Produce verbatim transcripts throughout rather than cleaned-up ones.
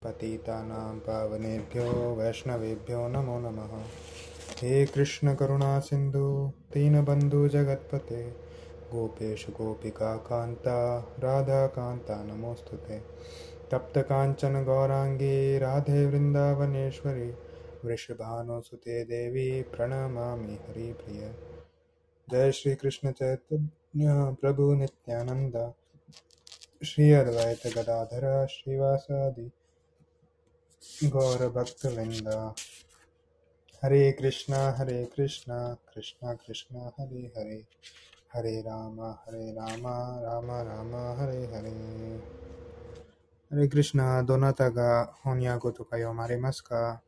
पतितानां पावनेभ्यो वैष्णवेभ्यो नमो नमः। हे कृष्ण करुणा सिंधु दीनबंधु जगत्पते गोपेश गोपिका कांता राधा कांता नमोस्तुते। तप्त कांचन गौरांगी राधे वृंदावनेश्वरी वृषभानुसुते देवी प्रणमामि हरिप्रिय। जय श्री कृष्ण चैतन्य प्रभु नित्यानंद श्री अद्वैत गदाधर श्रीवासादि गौर भक्तवृंद। हरे कृष्णा हरे कृष्णा कृष्णा कृष्णा हरे हरे हरे राम हरे राम राम राम हरे हरे。हरे कृष्णा。どなたが翻訳とか読まれますか？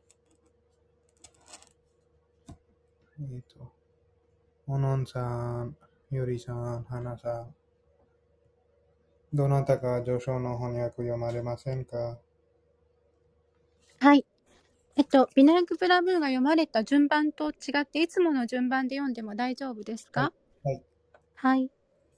えっと、おのんさん、ゆりさん、はなさん、どなたか序章の翻訳読まれませんか？ はい。えっと、ビナヤクプラブーが読まれた順番と違って、いつもの順番で読んでも大丈夫ですはい。 か？ はい。 はい。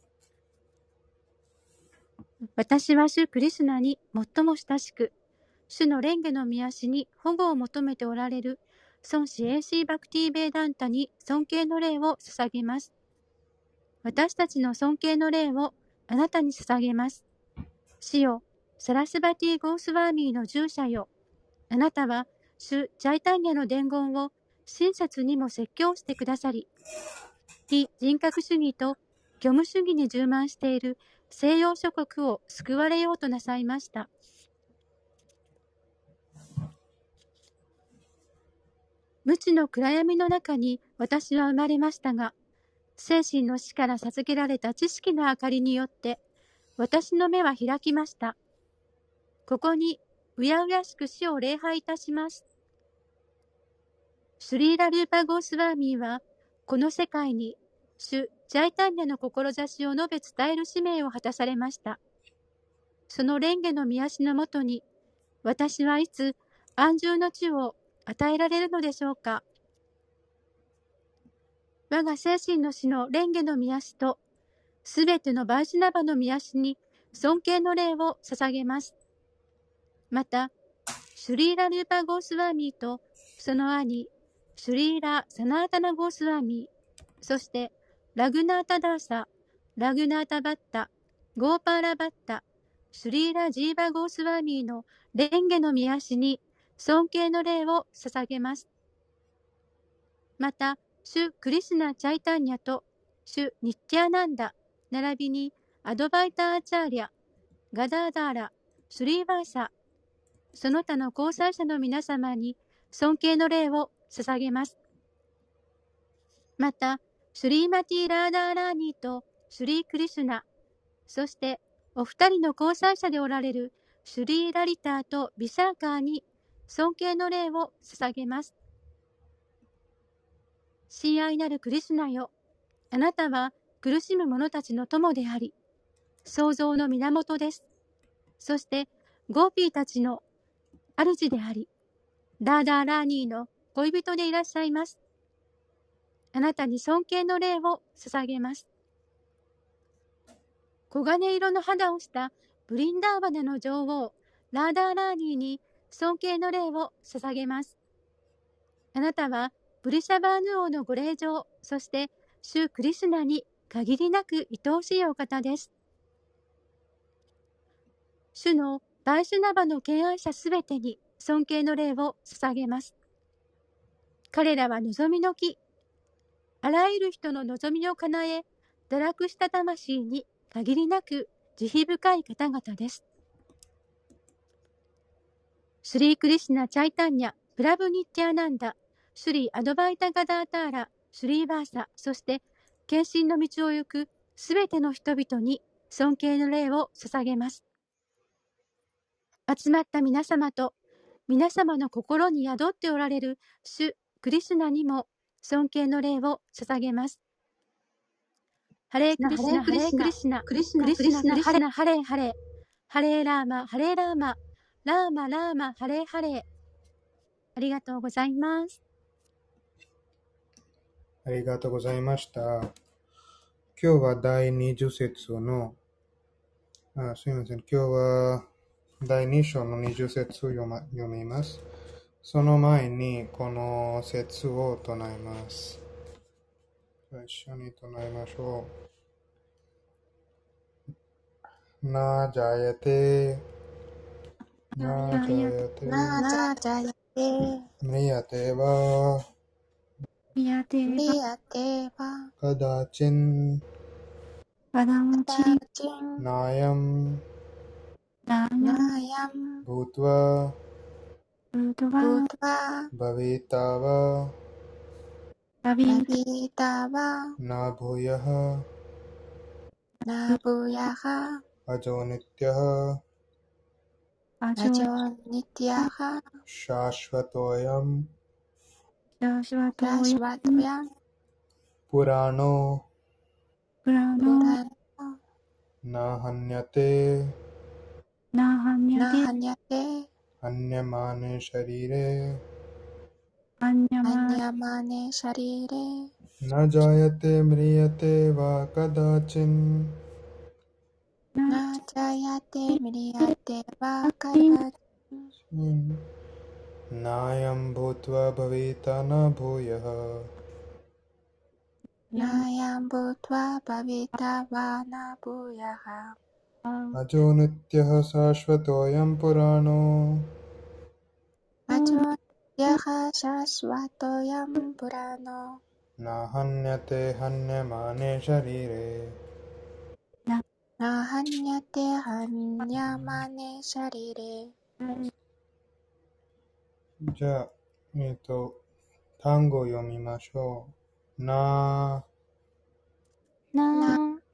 私は主クリスナに最も親しく、主の蓮華の御足に保護を求めておられる孫子エーシーバクティーベーダンタに尊敬の礼を捧げます。私たちの尊敬の礼をあなたに捧げます。主よ、サラスバティ・ゴースワーミーの従者よ。あなたは主ジャイタンニャの伝言を親切にも説教してくださり、非人格主義と虚無主義に充満している西洋諸国を救われようとなさいました。無知の暗闇の中に私は生まれましたが、精神の死から授けられた知識の明かりによって、私の目は開きました。ここにうやうやしく死を礼拝いたします。シュリーラ・ルーパ・ゴースワーミーは、この世界に主ジャイタンニャの志を述べ伝える使命を果たされました。その蓮華の御足のもとに、私はいつ安住の地を与えられるのでしょうか。我が精神の死の蓮華の御足と、すべてのバイシュナバの御足に尊敬の礼を捧げます。また、シュリーラ・ルーパ・ゴースワーミーと、その兄、シュリーラ・サナータナ・ゴースワーミー、そしてラグナータ・ダーサ、ラグナータ・バッタ、ゴーパーラ・バッタ、シュリーラ・ジーバ・ゴースワーミーの蓮華の御足に尊敬の礼を捧げます。また、主クリシュナ・チャイタンニャと、主ニッティアナンダ、並びにアドバイター・アチャーリャ、ガダーダーラ、シュリーバーサ、その他の交際者の皆様に尊敬の礼を捧げます。また、シュリーマティ・ラーダーラーニーとシュリー・クリシュナ、そしてお二人の交際者でおられるシュリー・ラリターとビシャーカーに尊敬の礼を捧げます。親愛なるクリシュナよ、あなたは苦しむ者たちの友であり、創造の源です。そして、ゴーピーたちの主であり、ダーダーラーニーの恋人でいらっしゃいます。あなたに尊敬の礼を捧げます。黄金色の肌をしたブリンダーバナの女王、ラーダーラーニーに尊敬の礼を捧げます。あなたはブリシャバーヌ王のご令嬢、そして主クリシュナに限りなく愛おしいお方です。主のバイシュナバの敬愛者すべてに尊敬の礼を捧げます。彼らは望みの木、あらゆる人の望みを叶え、堕落した魂に限りなく慈悲深い方々です。シュリー・クリシュナ・チャイタンニャ、プラブ・ニッティアナンダ、シュリー・アドバイタ・ガダーターラ、シュリー・バーサ、そして献身の道を行くすべての人々に尊敬の礼を捧げます。集まった皆様と皆様の心に宿っておられる主クリシュナにも尊敬の礼を捧げます。ハレークリシュナ、ハレークリシュナ、クリシュナ、クリシュナ、クリシュナ、ハレーハレー、ハレーラーマ、ハレーラーマ、ラーマ、ラーマ、ハレーハレー。ありがとうございます。 ありがとうございました。今日は第にじゅう節の、あ、すみません。今日はだいに章のにじゅう節読ま読みます。その前にこの節を唱えます。一緒に唱えましょう。なジャヤテ、なジャヤテ、 なジャヤテ、 ムリヤテワ、 ミヤテバ、 リヤテバ、 カダチン、 バダムチダチン、 ナヤム、 ナヤナヤム、 ブートワ、 ブドブバ、 ドバ、 バビタワ、 ラビラビタバ、 ナブヤハ、 ナブヤハ、 アジョニティハ、 アジアジョョニティアハ、 シャシュワトヤム、 シャシュワトラシヨュワトヤン、 プラノ、 プラプノ、 ラノ、 ナハニヤテ、 ナハニャテ、 ナハニャテ、 ハニヤマネシャリレ、 アンニャアマ、 ニャマネシャリレ、 ナジャヤテ、ムリヤテワ、カダチン、 ナナジャヤテ、ミリヤテバ、カチン、 ダチン、 ナヤムブートワ、バビタナブヤハ、 ナヤンブトワ、バビタワ、ナブヤハ、 アジョニティハ、サシュワトヤム、プラノ、 アジョニティアハ、シャシュワトヤン、プラノ、 ナハニヤテ、ハニヤマネシャリレ。 ナハニャテ、ハニャマネシャリレ。 じゃあ、えっと、単語を読みましょう。な、 ナ、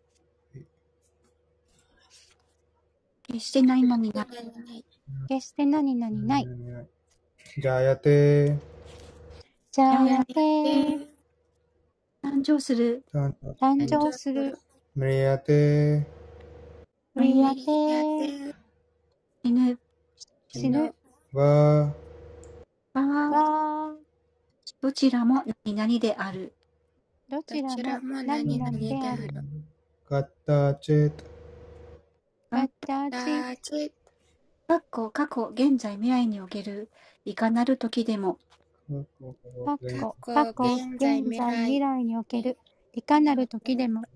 決して何々ない。決して何々ない。 ジャヤテ、 ジャヤテ、誕生する、 誕誕生する、 ムリヤテ、 ムリヤテ、死ぬ、死ぬ、 ワ、 わわ、 どちらも何々である。 どちらも何々である。 カッタチェト、 ガッタダチ、 かっこ過去、現在、未来における、いかなる時でも、 過去、過去、現在、未来、 未来における、いかなる時でも、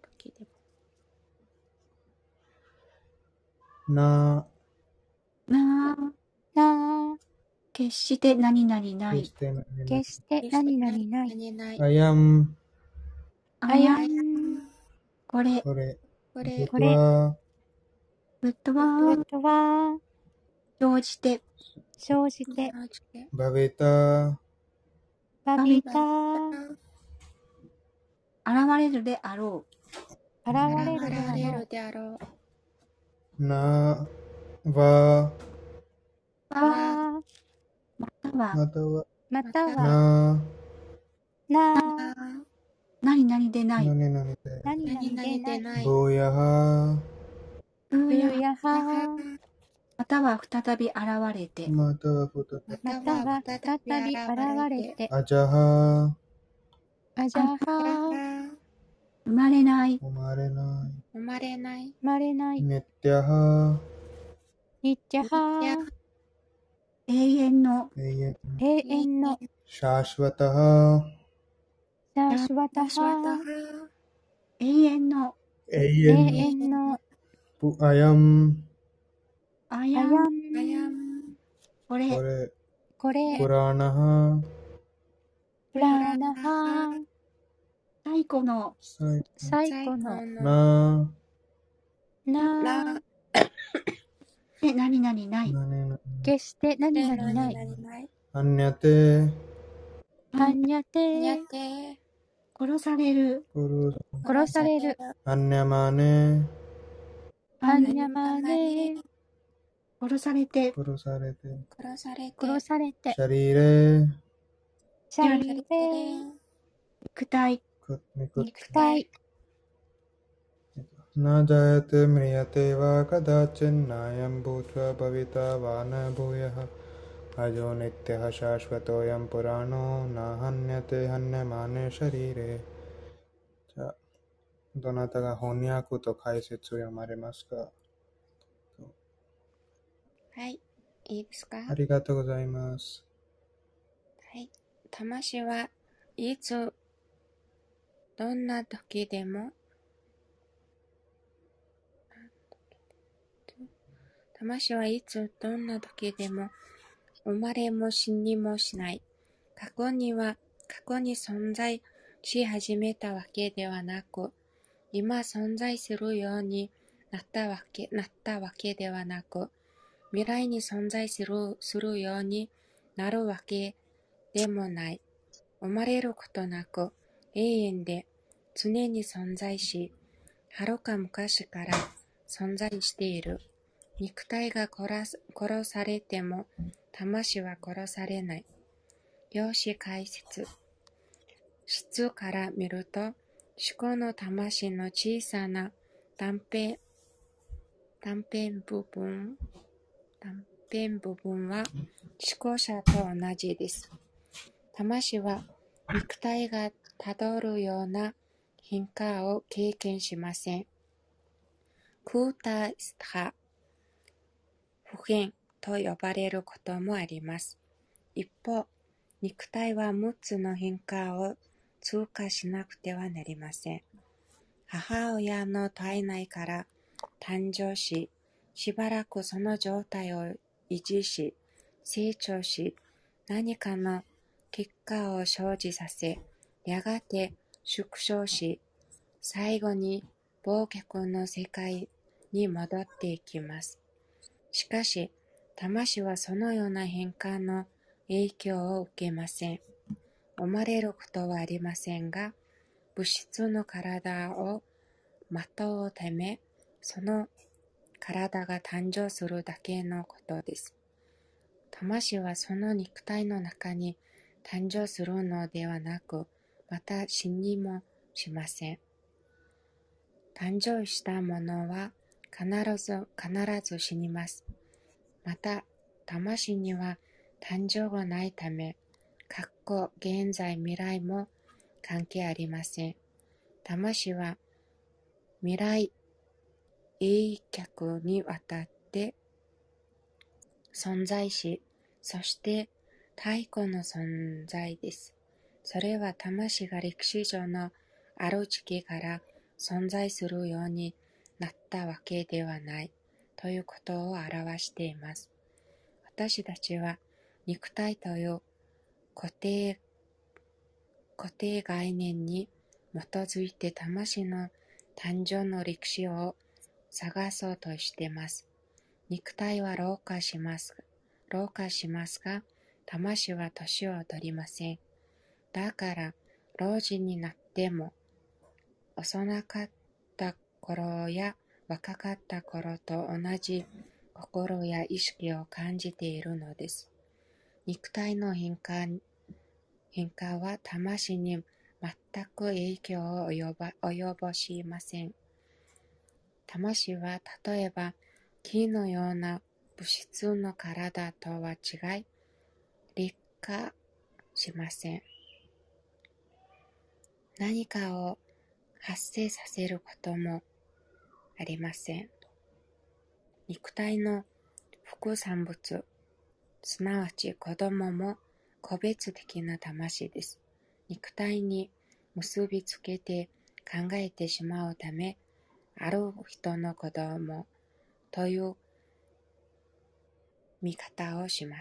な、 な、 な、 決して何々ない。 決して何々 決して何々ない。 ない。 アヤム、 あやあやん、これ、 これ、 これ、 これは、 ぶっ飛ばぶっ飛ば、 生じて、 生じて、 バベタ、 バビタ、 現れるであろ現れるであろう。であろう。 な、わ、 う。 わ、 わ、または、 または、 または、 な、 な、 何々でない。 何々で、 何々でない。 ブーヤハ、 うぶや、 やは、 または再び現れて、 またはふたた、 または再び現れて、 アジャハ、 あじゃは、 生まれない、 生まれな生まれない。 生まれないい、、ネッテャハ、 ニッチャハ、永遠の、 永遠、 永遠の、 シャーシュワタハ、 シャーシュワタシュワタハ、 ハ、 永遠の、 永永遠の、 遠の、 プアヤム、 あやあやん、 ん、 これ、 これ、 これ、 プラナハ、 プラーナハ、最古の、 最最最古の、 後の、 な、 な、 ら、 で何々ない。 なねな、 決して何で 々ない。 何々ない。 アンニャテ、 はんにゃにゃて、 て、 殺される、 プル、 殺される、 アンニャマネ、 はんにゃまね、殺されて、 殺されて、 殺されて、 殺されてシ、ャリレ、 シャリレ、肉体、 クニク肉体、 なジャヤテムリヤテワカダチンナヤンブートワバビタワナブヤハアジョニティハシャシュワトヤンプラノナハンニャテハンニャマネシャリレ。じゃあ、どなたが翻訳と解説を読まれますか？ はい、いいですか？ ありがとうございます。 はい。魂はいつ、どんな時でも、魂はいつ、どんな時でも、生まれも死にもしない。過去には、過去に存在し始めたわけではなく、今存在するようになったわけ、なったわけではなく、未来に存在する、するようになるわけでもない。生まれることなく、永遠で常に存在し、はるか昔から存在している。肉体が殺す、殺されても、魂は殺されない。用紙解説。質から見ると、思考の魂の小さな断片、断片部分、断片部分は思考者と同じです。魂は肉体がたどるような変化を経験しません。空体差、不変と呼ばれることもあります。一方、肉体はむっつの変化を通過しなくてはなりません。母親の体内から誕生し、しばらくその状態を維持し、成長し、何かの結果を生じさせ、やがて縮小し、最後に忘却の世界に戻っていきます。しかし、魂はそのような変化の影響を受けません。生まれることはありませんが、物質の体をまとうため、その体が誕生するだけのことです。魂はその肉体の中に誕生するのではなく、また死にもしません。誕生したものは必ず、必ず死にます。また、魂には誕生がないため、過去、現在、未来も関係ありません。魂は未来永却にわたって存在し、そして太古の存在です。それは魂が歴史上のある時期から存在するようになったわけではないということを表しています。私たちは肉体という固定、固定概念に基づいて魂の誕生の歴史を探そうとしています。肉体は老化します。老化しますが、魂は年を取りません。だから、老人になっても、幼かった頃や若かった頃と同じ心や意識を感じているのです。肉体の変化、変化は魂に全く影響を及ば、及ぼしません。魂は例えば木のような物質の体とは違い、劣化しません。何かを発生させることもありません。肉体の副産物、すなわち子供も個別的な魂です。肉体に結びつけて考えてしまうため、ある人の子供という見方をします。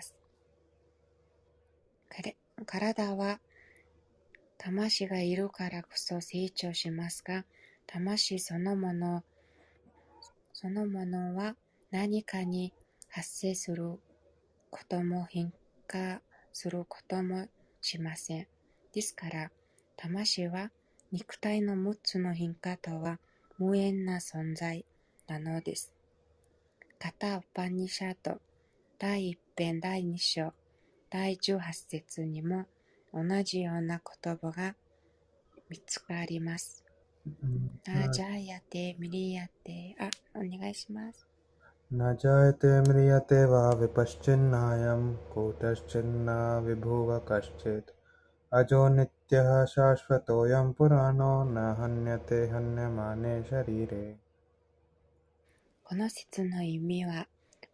体は魂がいるからこそ成長しますが、魂そのもの、そのものは何かに発生することも変化することもしません。ですから、魂は肉体のむっつの変化とは無縁な存在なのです。カタ・ウパニシャド第一編第二章第十八節にも同じような言葉が見つかります。ナジャヤテミリヤテ、あ、お願いします。 न जायते म्रियते वा विपश्चिन्नायं कूटश्चिन्ना विभुव कश्चित् अजो नित्यः शाश्वतोऽयं पुराणो न हन्यते हन्यमाने शरीरे。 この説の意味は、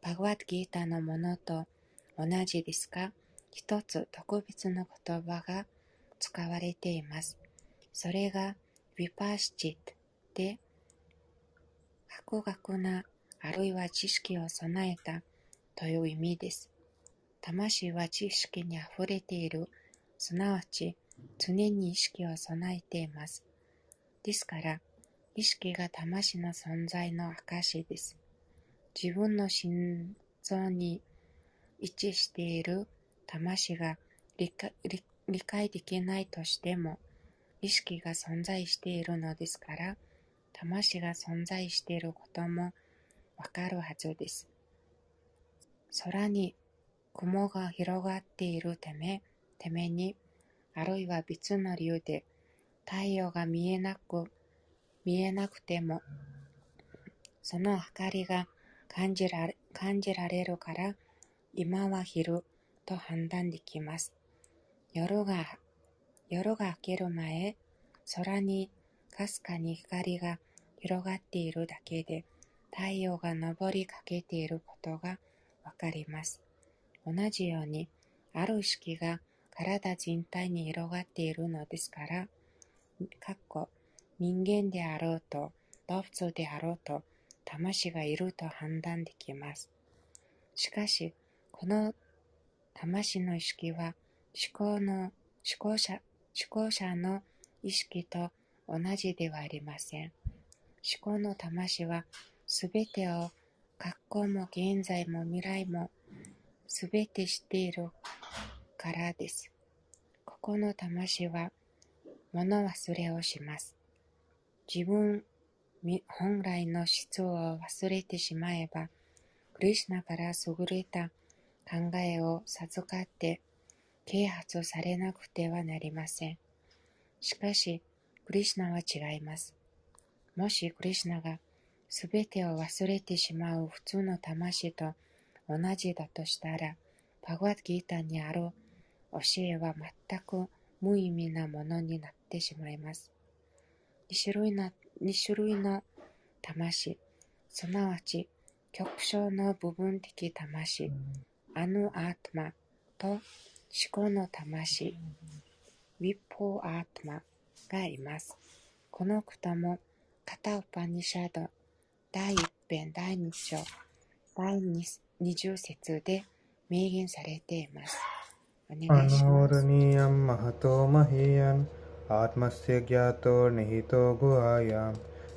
バガワッドギータのものと同じですが、一つ特別な言葉が使われています。それがヴィパーシチットで、博学なあるいは知識を備えたという意味です。魂は知識にあふれている、すなわち常に意識を備えています。ですから、意識が魂の存在の証です。自分の心臓に位置している魂が理解、理、理解できないとしても、意識が存在しているのですから、魂が存在していることもわかるはずです。空に雲が広がっているため、ために、あるいは別の理由で太陽が見えなく、見えなくても、その明かりが感じられ、感じられるから、今は昼と判断できます。夜が、夜が明ける前、空にかすかに光が広がっているだけで、太陽が昇りかけていることがわかります。同じように、ある意識が体全体に広がっているのですから、かっこ人間であろうと、動物であろうと、魂がいると判断できます。しかし、この魂の意識は思考の、思考者、思考者の意識と同じではありません。思考の魂はすべてを過去も現在も未来もすべて知っているからです。ここの魂は物忘れをします。自分本来の質を忘れてしまえば、クリシュナから優れた考えを授かって啓発されなくてはなりません。しかし、クリシュナは違います。もしクリシュナがすべてを忘れてしまう普通の魂と同じだとしたら、バガワッドギータにある教えは全く無意味なものになってしまいます。二種類の、二種類の魂、すなわち極小の部分的魂、アヌアートマと思考の魂、ウィポーアートマがいます。このこともカタウパニシャド第一編第二章第二十節で明言されています。お願いします。 अनोरणीयं महतो महीयन् आत्मस्य ज्ञातो निहितो गुहायां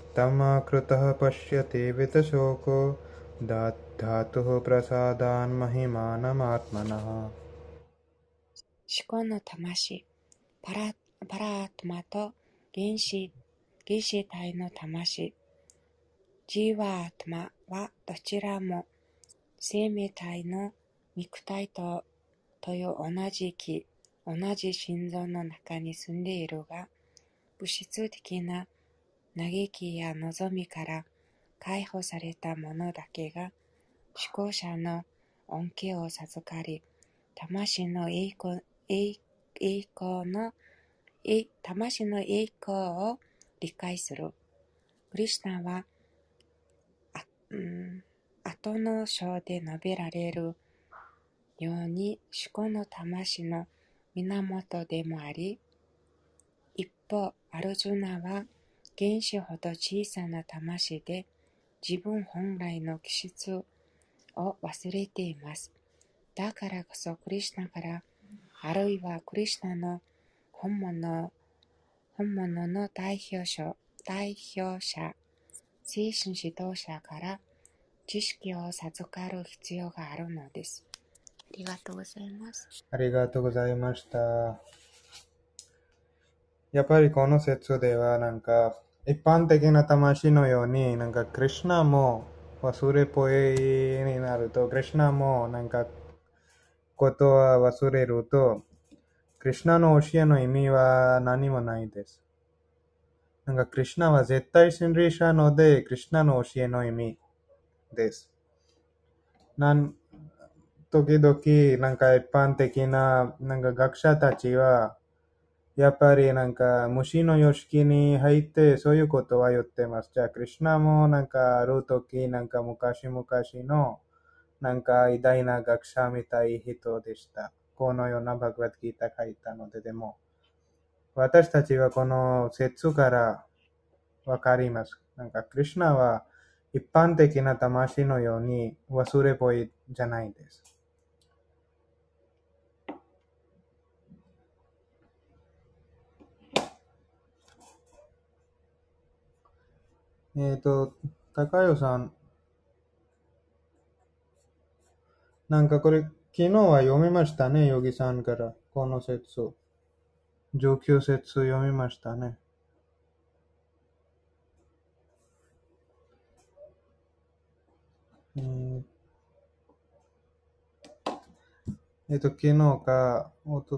तमाकृतः पश्यति वितशोको धातुः प्रसादान् महिमानमात्मनः。 思考の魂、パラ、パラアートマと原子、原子体の魂、ジーワートマはどちらも生命体の肉体と、という同じ気、同じ心臓の中に住んでいるが、物質的な嘆きや望みから解放されたものだけが思考者の恩恵を授かり、魂の栄光、栄光の、魂の栄光を理解する。クリシュナは、あ、うん、後の章で述べられるように思考の魂の源でもあり、一方、アルジュナは原子ほど小さな魂で自分本来の気質を忘れています。だからこそクリシュナから、あるいはクリシュナの本物、本物の代表者、代表者、精神指導者から知識を授かる必要があるのです。ありがとうございます。 ありがとうございました。やっぱりこの説ではなんか一般的な魂のようになんかクリシュナも忘れっぽいになると、クリシュナもなんかことは忘れると、クリシュナの教えの意味は何もないです。なんかクリシュナは絶対真理者ので、クリシュナの教えの意味です。なん時々なんか一般的ななんか学者たちはやっぱりなんか虫の様式に入ってそういうことは言ってます。じゃあクリシュナもなんかある時なんか昔々のなんか偉大な学者みたい人でした。このようなバグワッドギータ書いたので、でも、私たちはこの説からわかります。なんか、クリシュナは一般的な魂のように忘れっぽいじゃないです。えっ、と、高代さん、なんかこれ、昨日は読みましたね、ヨギさんから、この説。じゅうきゅう節読みましたね。えーえっと、昨日か、おと、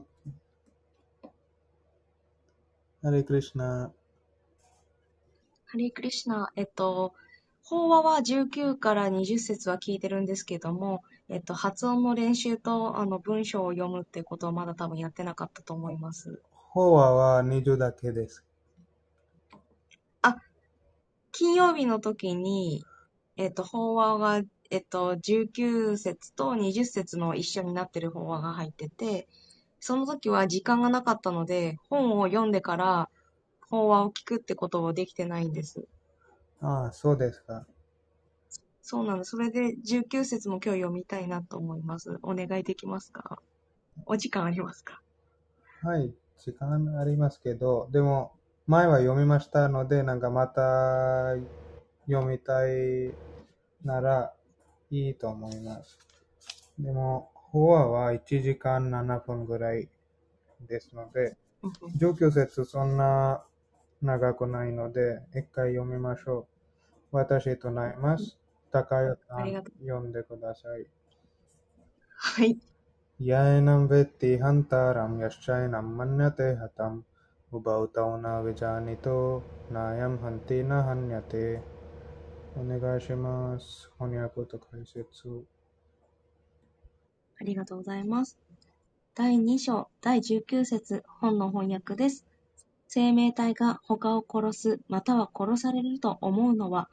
ハレクリシナ、 ハレークリシュナ、えっと、法話はじゅうきゅうからにじゅっ節は聞いてるんですけども、えっと、発音の練習とあの文章を読むってことはまだ多分やってなかったと思います。 法話はにじゅうだけです。 あ、金曜日の時に、えっと、法話が、えっと、じゅうきゅう節とにじゅっ節の一緒になってる法話が入ってて、その時は時間がなかったので、本を読んでから法話を聞くってことをできてないんです。 ああ、そうですか。 そうなの。それでじゅうきゅう節も今日読みたいなと思います。お願いできますか？お時間ありますか？ はい、時間ありますけど、でも、前は読みましたので、なんかまた読みたいならいいと思います。でも、法話はいちじかんななふんぐらいですので、 うんうんじゅうきゅう節そんな長くないので、一回読みましょう。私となります。高代さん、 ありがとう。 読んでください。 はい。 यायनं वेत्ति हन्तारं यश्चैनं मन्यते हतम् उभौ तौ न विजानीतो नायं हन्ति न हन्यते。お願いします。翻訳と解説。 ありがとうございます。だいに章だいじゅうきゅう節本の翻訳です。生命体が他を殺すまたは殺されると思うのは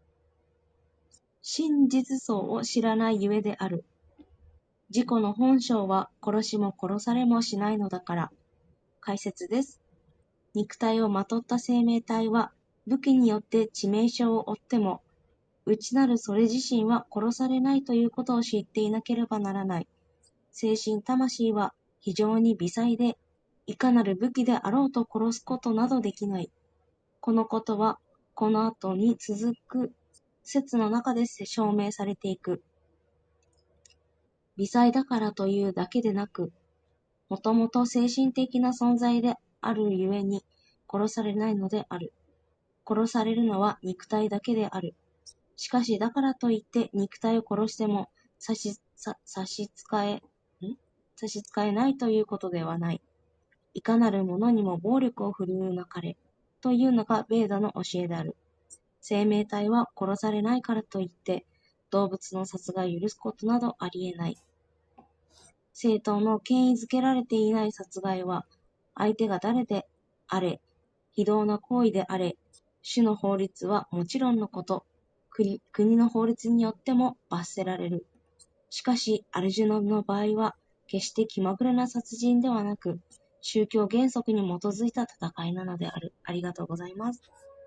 真実相を知らないゆえである。自己の本性は殺しも殺されもしないのだから。解説です。肉体をまとった生命体は武器によって致命傷を負っても内なるそれ自身は殺されないということを知っていなければならない。精神魂は非常に微細で、いかなる武器であろうと殺すことなどできない。このことは、この後に続く説の中で証明されていく。微細だからというだけでなく、もともと精神的な存在であるゆえに殺されないのである。殺されるのは肉体だけである。しかし、だからといって肉体を殺しても差し、さ差し支え、ん差し支えないということではない。いかなる者にも暴力を振るうなかれ、というのがベーダの教えである。生命体は殺されないからといって、動物の殺害を許すことなどありえない。正当の権威づけられていない殺害は、相手が誰であれ、非道な行為であれ、種の法律はもちろんのこと、国国の法律によっても罰せられる。しかし、アルジュナの場合は、決して気まぐれな殺人ではなく、宗教原則に基づいた戦いなのである。ありがとうございます。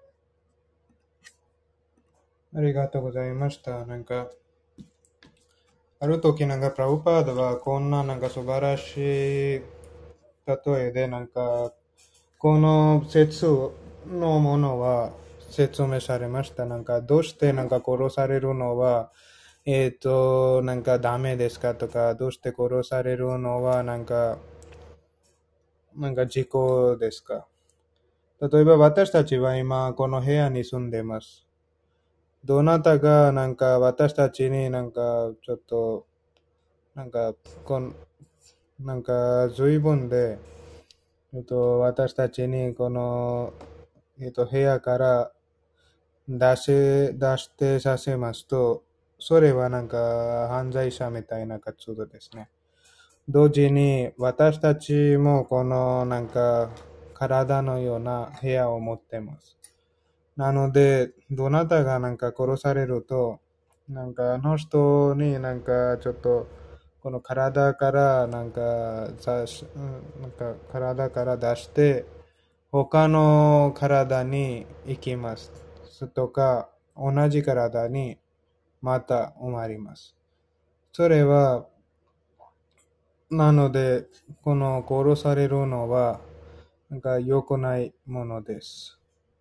ありがとうございました。なんか、ある時なんか、プラブパードはこんななんか素晴らしい例えで、なんか、この説のものは説明されました。なんか、どうしてなんか殺されるのは、えっ、と、なんかダメですかとか、どうして殺されるのはなんか、なんか事故ですか。例えば私たちは今この部屋に住んでます。どなたがなんか私たちになんかちょっとなんかこんなんか随分で、えっと、私たちにこの、えっと、部屋から出し出してさせますと、それはなんか犯罪者みたいな活動ですね。同時に私たちもこのなんか体のような部屋を持ってます。なので、どなたがなんか殺されると、 なんかあの人になんかちょっとこの体からなんかさしなんか体から出して他の体に行きます。とか同じ体にまた生まれます。それはなのでこの殺されるのはなんか良くないものです。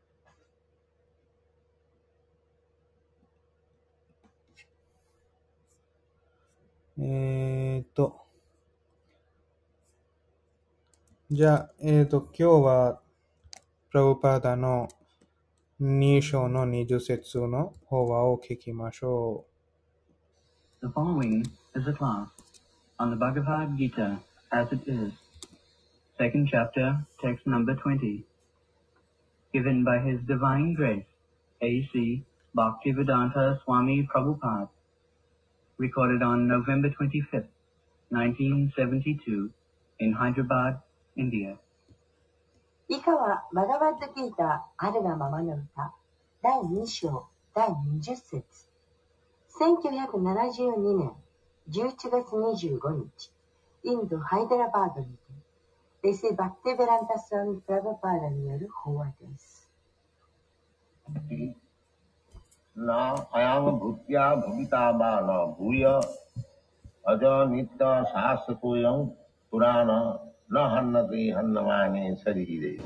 えーっとじゃあ、えーっと今日はプラブパーダのに章のにじゅう節の法話を聞きましょう。 The following is a class on the Bhagavad Gita as it is, second chapter, text number twenty, given by His Divine Grace, A C Bhaktivedanta Swami Prabhupada, recorded on November twenty-fifth, nineteen seventy-two, in Hyderabad, India. 以下はバガバッドギーターあるがままの歌だいに章だいにじゅう節せんきゅうひゃくななじゅうにねんじゅういちがつにじゅうごにちインドハイデラバードにてレシバクティベランタスワミプラブパーダによる法話です。 なあやむブッティアブビタバーナブヤアジャニッタサースコヤンプラーナなハンナティハンナマーニサリヒデ。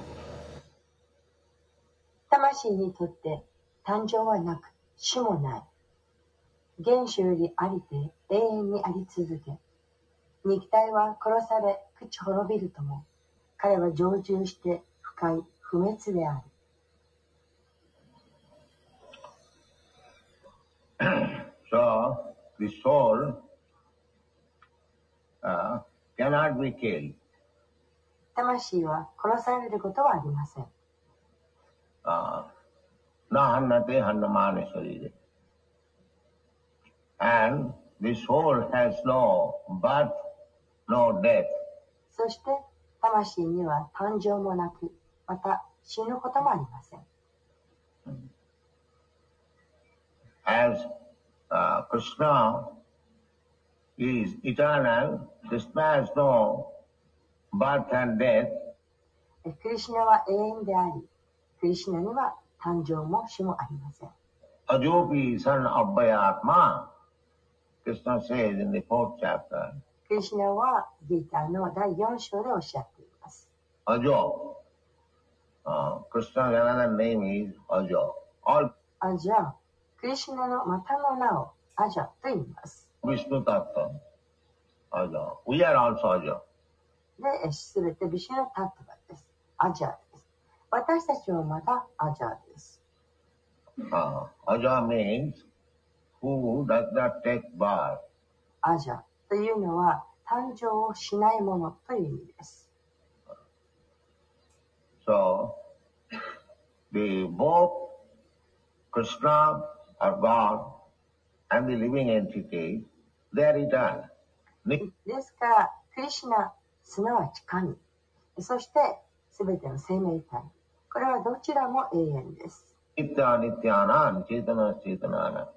魂にとって誕生はなく死もない。原初よりありて永遠にあり続け、肉体は殺され朽ち滅びるとも、彼は常住して不快不滅である。 So the soul uh, cannot be killed. 魂は殺されることはありません。 Na hannate hannamane sarire. And the soul has no birth, no death. そして魂には誕生もなく、また死ぬこともありません。 As uh, Krishna is eternal, Krishna has no birth and death. クリシュナは永遠であり、クリシュナには誕生も死もありません。 Ajopi son of Vayatma, Krishna says in the fourth chapter. クリシュナはギーターのだいよん章でおっしゃっています。 Ajo. Uh, Krishna's another name is Ajo. All アジャ、クリシュナのまたの名をアジャと言います。 Vishnu Tattva. Ajo. We are also Ajo. で、すべてビシュナタットバです。アジャです。私たちはまたアジャです。 Uh, Aja means who does not take birth. アジャというのは誕生をしないものという意味です。 So, the both Krishna or God and the living entity, they are eternal. ですから、クリシュナ、すなわち神、そしてすべての生命体、これはどちらも永遠です。 Nitya Nityanam Chetana Chetanana.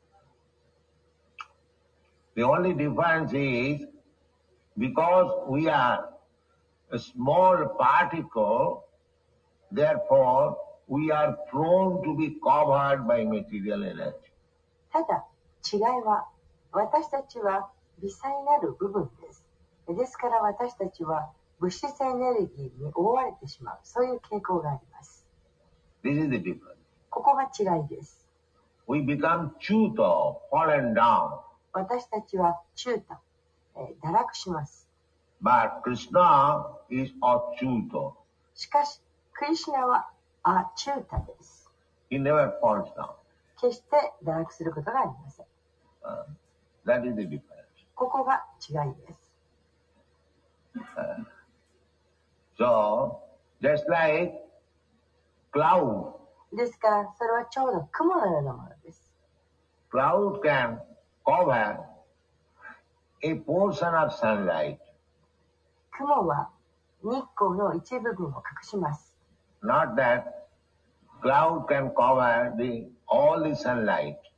The only difference is because we are a small particle, therefore we are prone to be covered by material energy. ただ、違いは、私たちは微細なる部分です。ですから私たちは物質エネルギーに覆われてしまう、そういう傾向があります。 This is the difference. ここが違いです。 We become chuta, fallen down. 私たちは中途、えー、堕落します。 But Krishna is achyuta. しかし、クリシュナはアチュータです。 He never falls down. 決して堕落することがありません。 Uh, that is the difference. ここが違いです。 Uh, so, just like cloud. ですから、それはちょうど雲のようなものです。 Cloud can cover a portion of sunlight. 雲は日光の一部分を隠します。 Not that cloud can cover the all the sunlight.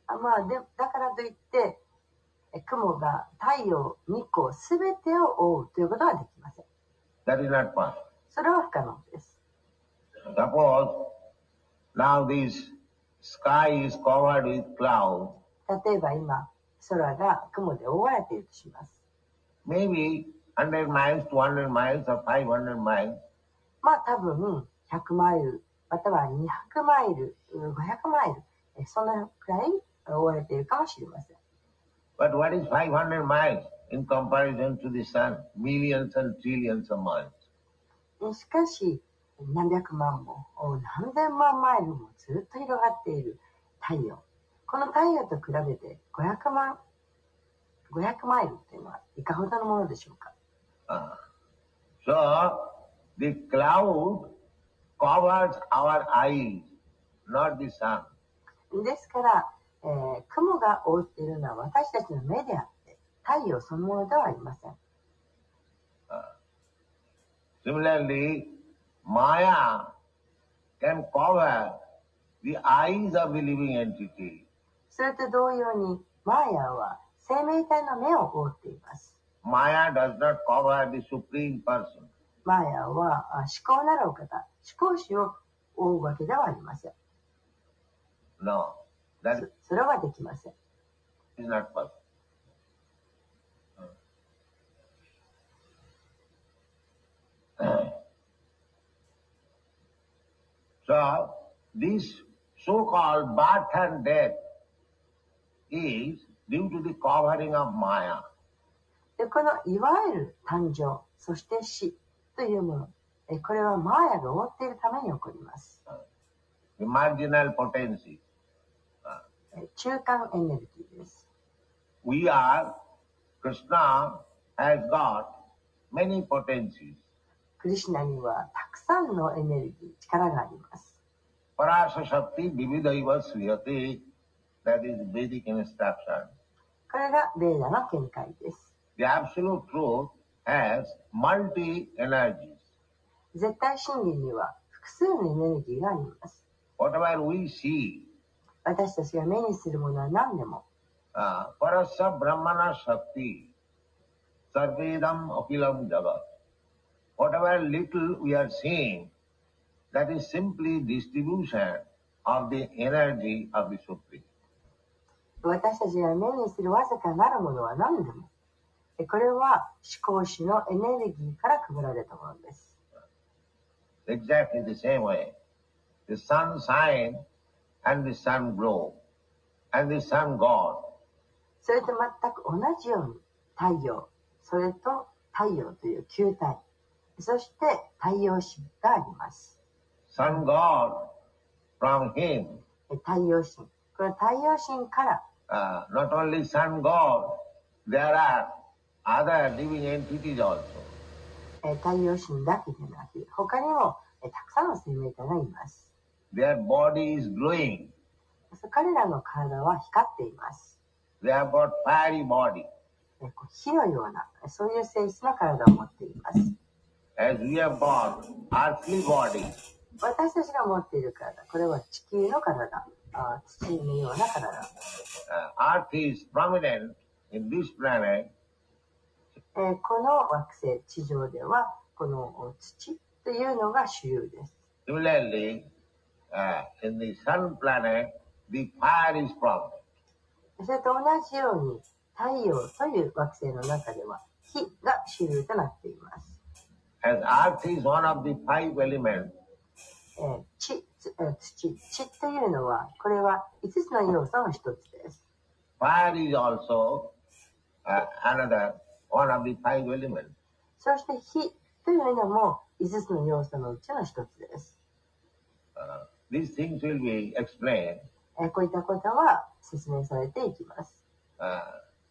あまあ、でだからといって、雲が太陽、日光すべてを覆うということはできません。 That is not possible. それは不可能です。 Suppose now this sky is covered with clouds. 例えば今、空が雲で覆われているとします。 Maybe one hundred miles, two hundred miles or five hundred miles. まあ多分ひゃくマイル、またはにひゃくマイル、ごひゃくマイル、そのくらい覆われているかもしれません。 But what is five hundred miles in comparison to the sun? Millions and trillions of miles. しかし、何百万も何千万マイルもずっと広がっている太陽。この太陽と比べてごひゃくまん、ごひゃくマイルというのはいかほどのものでしょうか。 Uh, so, the cloud covers our eyes, not the sun. ですから、えー、雲が覆っているのは私たちの目であって、太陽そのものではありません。 Uh, similarly, Maya can cover the eyes of the living entity. それと同様に、マーヤは生命体の目を覆っています。 Maya does not cover the supreme person. マーヤは思考なるお方、思考主を覆うわけではありません。 No, that それはできません。 is not possible. So, this so-called birth and death is due to the covering of Maya. でこのいわゆる誕生、そして死というもの、えこれはマーヤが覆っているために起こります。 The marginal potency. え中間エネルギーです。 We are, Krishna has got many potencies. クリシュナにはたくさんのエネルギー、力があります。 Parasa Shakti Vividaiva Sriyate, that is Vedic instruction. これがベーダの見解です。 The absolute truth has multi-energies. 絶対真理には複数のエネルギーがあります。 Whatever we see, 私たちが目にするものは何でも、 uh, Parasa Brahmana Shakti, Sarvedam Akilam Jagat. Whatever little we are seeing, that is simply distribution of the energy of the Supreme. 私たちが目にするわずかなるものは何でも、これは思考主のエネルギーから配られたものです。 Exactly the same way. The sun shines and the sun glows, and the sun god. それと全く同じように、太陽、それと太陽という球体、そして太陽神があります。 Sun god, from him, 太陽神。この太陽神から、 uh, not only sun god, there are other living entities also. 太陽神だけでなく、他にもたくさんの生命体がいます。 Their body is glowing. 彼らの体は光っています。 They have got fiery body. 火のような、そういう性質の体を持っています。 As we have got earthly body. 私たちが持っている体、これは地球の体、あ土のような体。 Uh, Earth is prominent in this planet. えー、この惑星、地上では、この土というのが主流です。 Similarly, uh, in the sun planet, the fire is prominent. それと同じように、太陽という惑星の中では、火が主流となっています。 As Earth is one of the five elements, えー、地、土、地というのは、これは五つの要素の一つです。 fire is also uh, another one of the five elements. そして火というのも五つの要素のうちの一つです。 Uh, these things will be explained. えー、こういったことは説明されていきます。 Uh,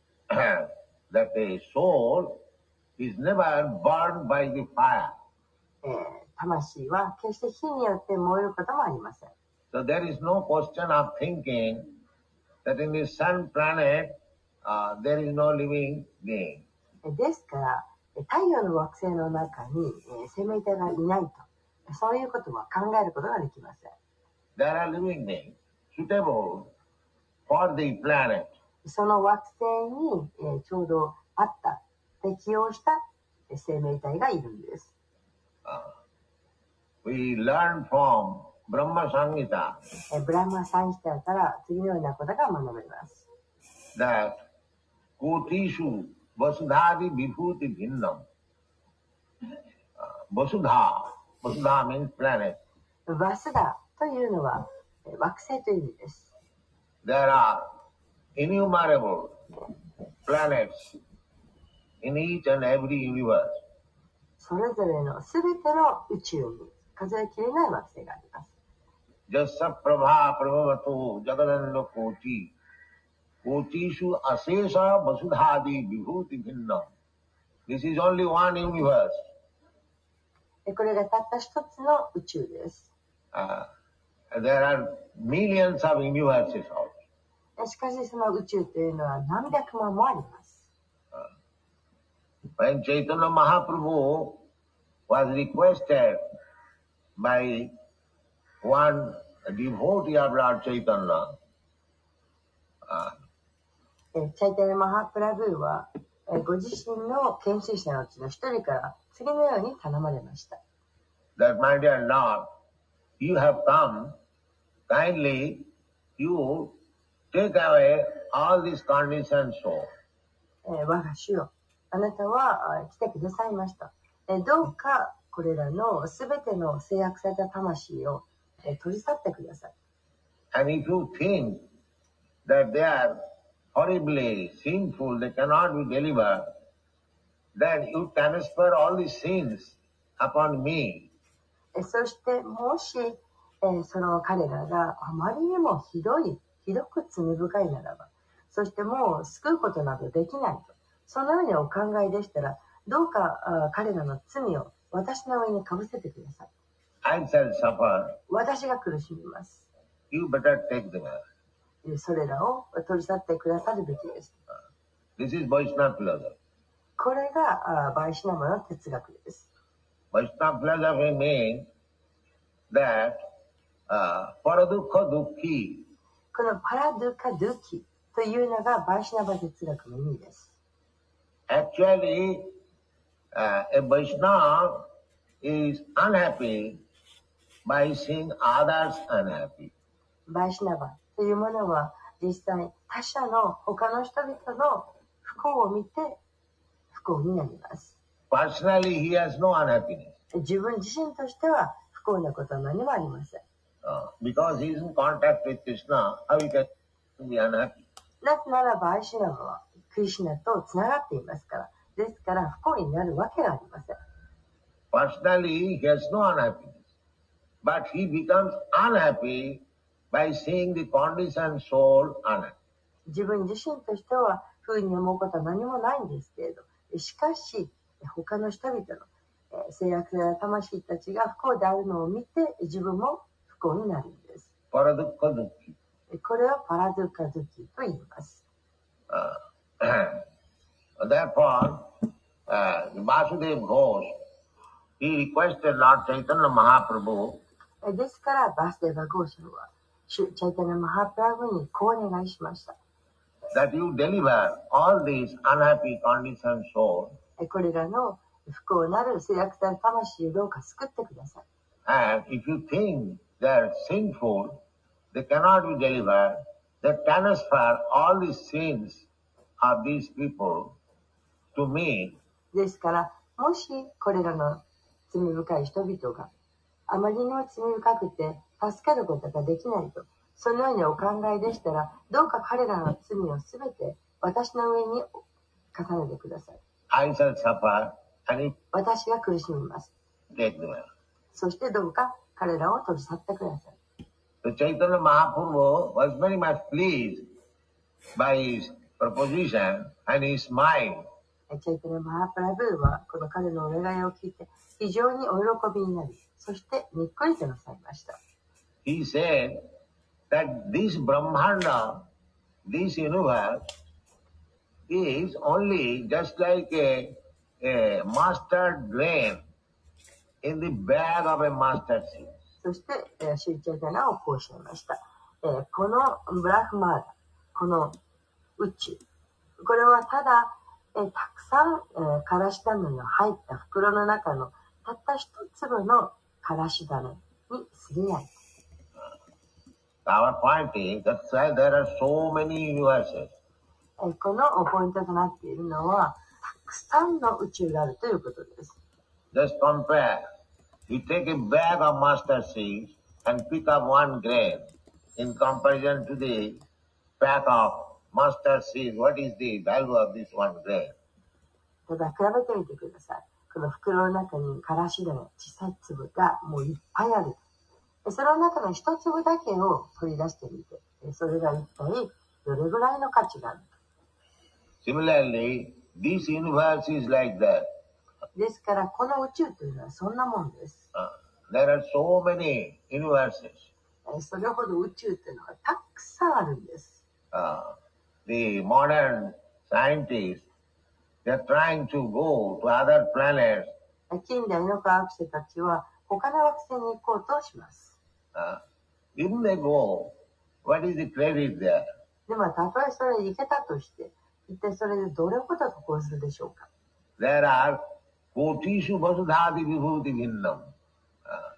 that the soul is never burned by the fire. えー、魂は決して火によって燃えることもありません。 So there is no question of thinking that in the sun planet uh, there is no living being. ですから、太陽の惑星の中に、えー、生命体がいないと、そういうことは考えることができません。 There are living beings suitable for the planet. その惑星に、えーちょうどあった、適応したえー生命体がいるんです。 Uh, we learn from Brahma Samhita えーブラマサンヒタから次のようなことが学べます。 that Kotishu Vasudhadi Vibhuti Bhinnam. Uh, Vasudha, Vasudha means planet. バスダというのはえー惑星という意味です。 There are innumerable planets in each and every universe. それぞれのすべての宇宙に数えきれない惑星があります。 Jassa Prabha Prabhavato Jagadanda Koti Kotishu Asesha Vasudhadi Vibhuti Bhinnam. This is only one universe. えーこれがたった一つの宇宙です。 Uh, there are millions of universes also. えーしかしその宇宙というのは何百万もあります。 When Chaitanya Mahaprabhu was requested by one devotee of Lord Chaitanya, uh, えーチャイタニャ・マハプラブーは、えーご自身の研修者のうちの一人から次のように頼まれました。 that my dear Lord, you have come, kindly you take away all these conditions so. えー我が主よ、あなたはあ来てくださいました。えーどうかこれらのすべての制約された魂を、えー取り去ってください。 And if you think that they are horribly sinful, they cannot be delivered, then you transfer all these sins upon me. えーそしてもし、えーその彼らがあまりにもひどい、ひどく罪深いならば、そしてもう救うことなどできないと、そのようにお考えでしたら、どうかあ彼らの罪を私の上にかぶせてください。 I shall suffer. 私が苦しみます。 You better take them away. えーそれらを取り去ってくださるべきです。 This is Vaishnava philosophy. これがあバイシナマの哲学です。 Vaishnava philosophy means that uh, paradukha dukhi, このパラドゥカドゥキというのがバイシナバ哲学の意味です。 actually uh, a Vaishnava is unhappy by seeing others unhappy. バイシナバというものは実際他者の他の人々の不幸を見て不幸になります。 Personally, he has no unhappiness 自分自身としては不幸なことは何もありません。 uh, because he is in contact with Krishna. How he can be unhappy? なぜならバイシナバはクリシュナとつながっていますから。ですから不幸になるわけがありません。 Personally, he has no unhappiness, but he becomes unhappy by seeing the conditioned soul unhappy. 自分自身としては不運に思うことは何もないんですけれど、しかし他の人々のえー制約された魂たちが不幸であるのを見て自分も不幸になるんです。 Paradukha dukhi. これをパラドゥカドゥキと言います。 Uh, therefore, uh, Vasudeva Ghosh, he requested Lord Chaitanya Mahaprabhu えーですからバスデバゴーシャは主チャイタナ・マハプラブにこうお願いしました。 that you deliver all these unhappy conditioned souls えーこれらの不幸なる制約された魂をどうか救ってください。 and if you think they are sinful, they cannot be delivered, they transfer all the sins of these people to me. ですからもしこれらの罪深い人々があまりにも罪深くて助かることができないと、そのようにお考えでしたら、どうか彼らの罪をすべて私の上に重ねてください。 I shall suffer and if 私が苦しみます。 take them away. そしてどうか彼らを取り去ってください。 So Chaitanya Mahaprabhu was very much pleased by his proposition and he smiled. チャイタナ・マハプラブーはこの彼のお願いを聞いて非常にお喜びになり、そしてにっこりとなさいました。 He said that this Brahmanda, this universe, is only just like a, a mustard grain in the bag of a mustard seed. そして、えー、シュリチャイタナはこうおっしゃいました。えーこのブラフマーダ、 この宇宙。これはただ、えー、たくさん、えー、からし種の入った袋の中のたった一粒のからし種に過ぎない。 Our point is that's why there are so many universes. えー、このポイントとなっているのは、たくさんの宇宙があるということです。 Just compare. You take a bag of mustard seeds and pick up one grain. In comparison to the pack of mustard seeds, what is the value of this one grain? ただ比べてみてください。この袋の中にからし種、小さい粒がもういっぱいある。その中の一粒だけを取り出してみて、それが一体どれぐらいの価値があるか。 Similarly, this universe is like that. ですから、この宇宙というのはそんなもんです。 Uh, there are so many universes. それほど宇宙というのはたくさんあるんです。 Uh, the modern scientists, they are trying to go to other planets. 近代の科学者たちは他の惑星に行こうとします。 Uh, if they go, what is the credit there? でも、たとえそれに行けたとして、一体それでどれほど得するでしょうか。 There are kotishu vasudhati vibhuti bhinnam. Uh,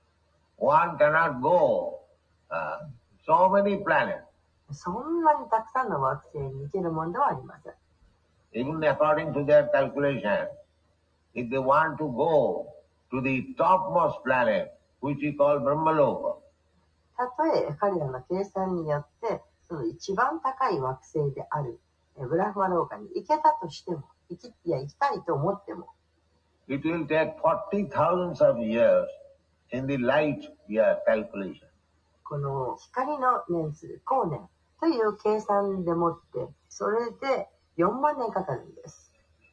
one cannot go uh, so many planets. そんなにたくさんの惑星に行けるものではありません。 Even according to their calculation, if they want to go to the topmost planet, which we call Brahmaloka. たとえ彼らの計算によって、その一番高い惑星であるブラフマローカに行けたとしても、行き、いや、行きたいと思っても、 It will take forty thousands of years in the light year calculation. この光の年数、光年という計算でもって、それでよんまんねんかかるんです。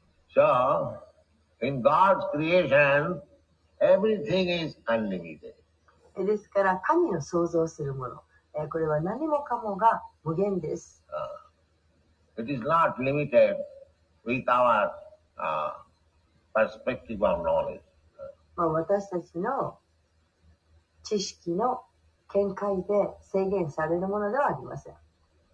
So, in God's creation, everything is unlimited. ですから、神の創造するもの、これは何もかもが無限です。 Uh, it is not limited with our uh, perspective of knowledge. まあ、私たちの知識の見解で制限されるものではありません。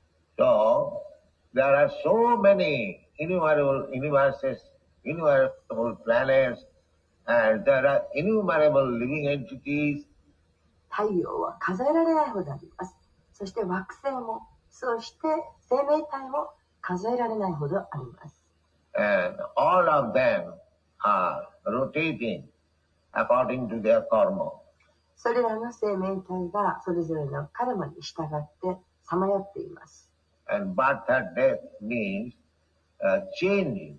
So, there are so many innumerable universes, innumerable planets, and there are innumerable living entities. 太陽は数えられないほどあります。そして惑星も、そして生命体も数えられないほどあります。 And all of them are rotating according to their karma. それらの生命体がそれぞれのカルマに従ってさまよっています。 And birth and death means uh, changing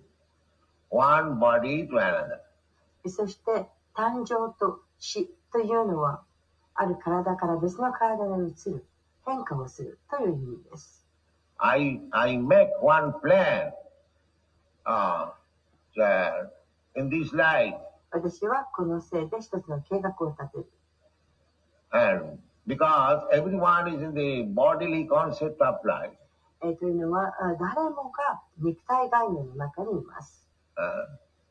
one body to another. そして誕生と死というのはある体から別の体に移る、変化をするという意味です。 I, I make one plan uh, in this life. 私はこのせいで一つの計画を立てる。 And because everyone is in the bodily concept of life. えというのは誰もが肉体概念の中にいます。 Uh,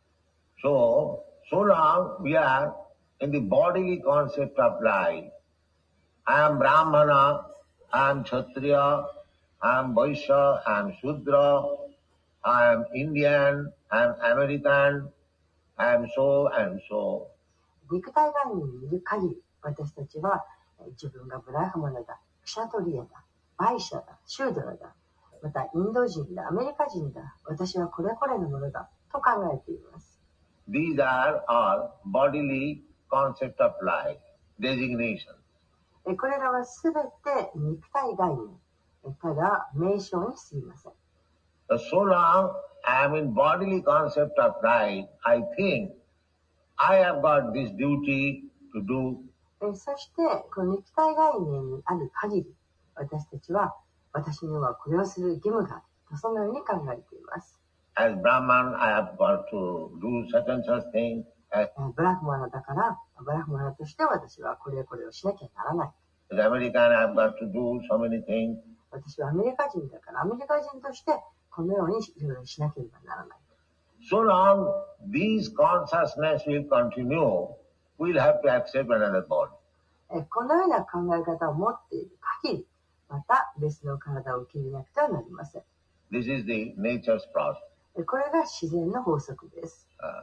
so, so long we are in the bodily concept of life. I am Brahmana, I am Kshatriya, I am Vaishya, I am Shudra, I am Indian, I am American, I am so and so. 肉体概念にいる限り、私たちは自分がブラフマナだ、クシャトリアだ、バイシャだ、シュードラだ、またインド人だ、アメリカ人だ、私はこれこれのものだと考えています。 These are all bodily concept of life, designation. これらはすべて肉体概念、ただ名称に過ぎません。 So long I am in bodily concept of life, I think I have got this duty to do. そして、この肉体概念にある限り、私たちは、私にはこれをする義務がある。そのように考えています。 As Brahman, I have got to do such and such thing. As ブラフマナだから、ブラフマナとして私はこれこれをしなきゃならない。 American, I have got to do so many things. 私はアメリカ人だから、アメリカ人としてこのようにいろいろしなければならない。 So long these consciousness will continue, we'll have to accept another body. このような考え方を持っている限り、 また別の体を受け入れなくてはなりません。 This is the nature's process. これが自然の法則です。 Uh,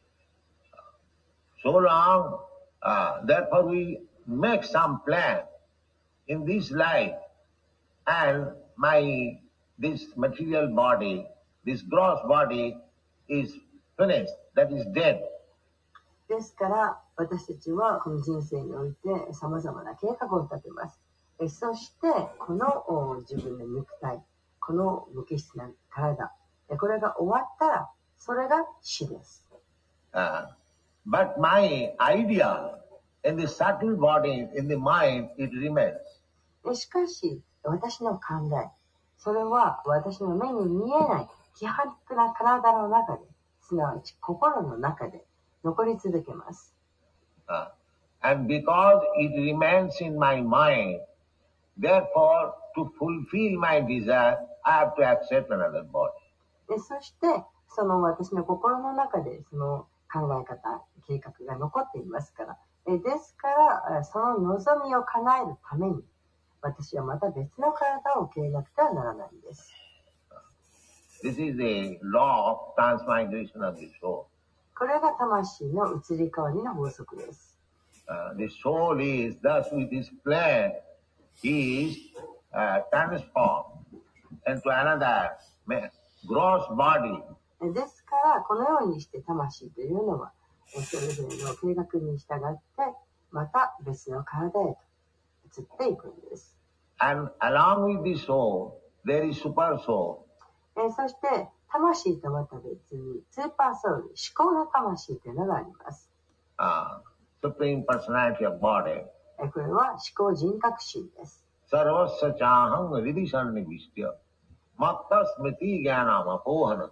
so long, uh, therefore we make some plan in this life, and my this material body, this gross body is finished, that is dead. ですから私たちはこの人生において様々な計画を立てます。えそしてこの自分の肉体、この無機質な体、これが終わったらそれが死です。 Uh, but my idea in the subtle body, in the mind, it remains. しかし私の考え、それは私の目に見えない希薄な体の中で、すなわち心の中で残り続けます。 Uh, and because it remains in my mind, therefore to fulfill my desire, I have to accept another body. でそしてその私の心の中でその考え方、計画が残っていますから、えですからその望みを叶えるために私はまた別の体を受け入れなくてはならないんです。 This is the law of transmigration of the soul. これが魂の移り変わりの法則です。 Uh, the soul is thus with this plan is uh, transformed into another gross body. ですからこのようにして魂というのはそれぞれの計画に従ってまた別の体へと移っていくんです。 And along with the soul, there is super soul. そして魂とまた別にスーパーソウル、思考の魂というのがあります。 Uh, Supreme Personality of Body. これは思考人格心です。 Sarvasya chaham vidisannivistya matta smriti jnanam apohana.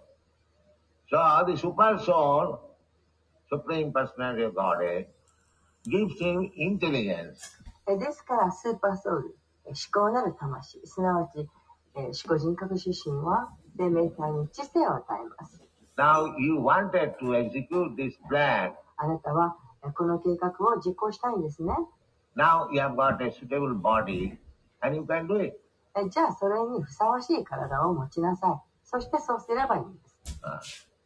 So the super soul, Supreme Personality of Body, gives him intelligence. ですからスーパーソウル、思考なる魂、すなわち思考人格出身は生命体に知性を与えます。 Now you wanted to execute this plan. あなたはこの計画を実行したいんですね。 Now you have got a suitable body and you can do it. じゃあそれにふさわしい体を持ちなさい。そしてそうすればいいんです。 Uh,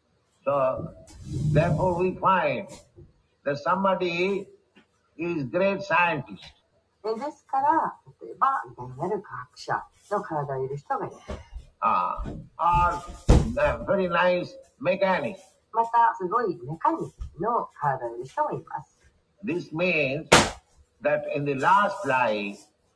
so therefore we find that somebody is great scientist. ですから例えば偉大なる科学者の体をいる人がいる。 Uh, or a very nice mechanic. またすごいメカニックの体をいる人もいます。 This means that in the last life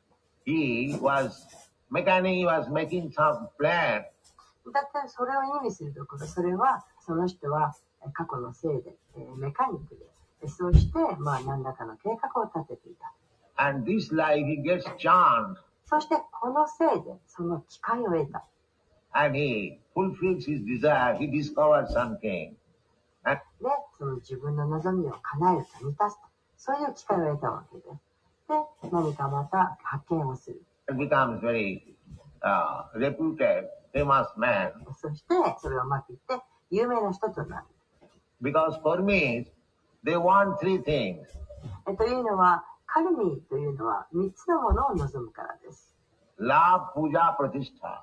he was mechanic, he was making some plan. だってそれを意味するところ、それはその人は過去のせいでメカニックで、そうしてまあ何らかの計画を立てていた。 And this life he gets chance. そしてこのせいでその機会を得た。 And he fulfills his desire, he discovers something. で、その自分の望みを叶えると満たすと、そういう機会を得たわけです。で、何かまた発見をする。 It becomes very uh, reputed, famous man. そしてそれをうまくいって有名な人となる。 Because for me, they want three things. えというのは、カルミというのは三つのものを望むからです。 Love, puja, pratishtha.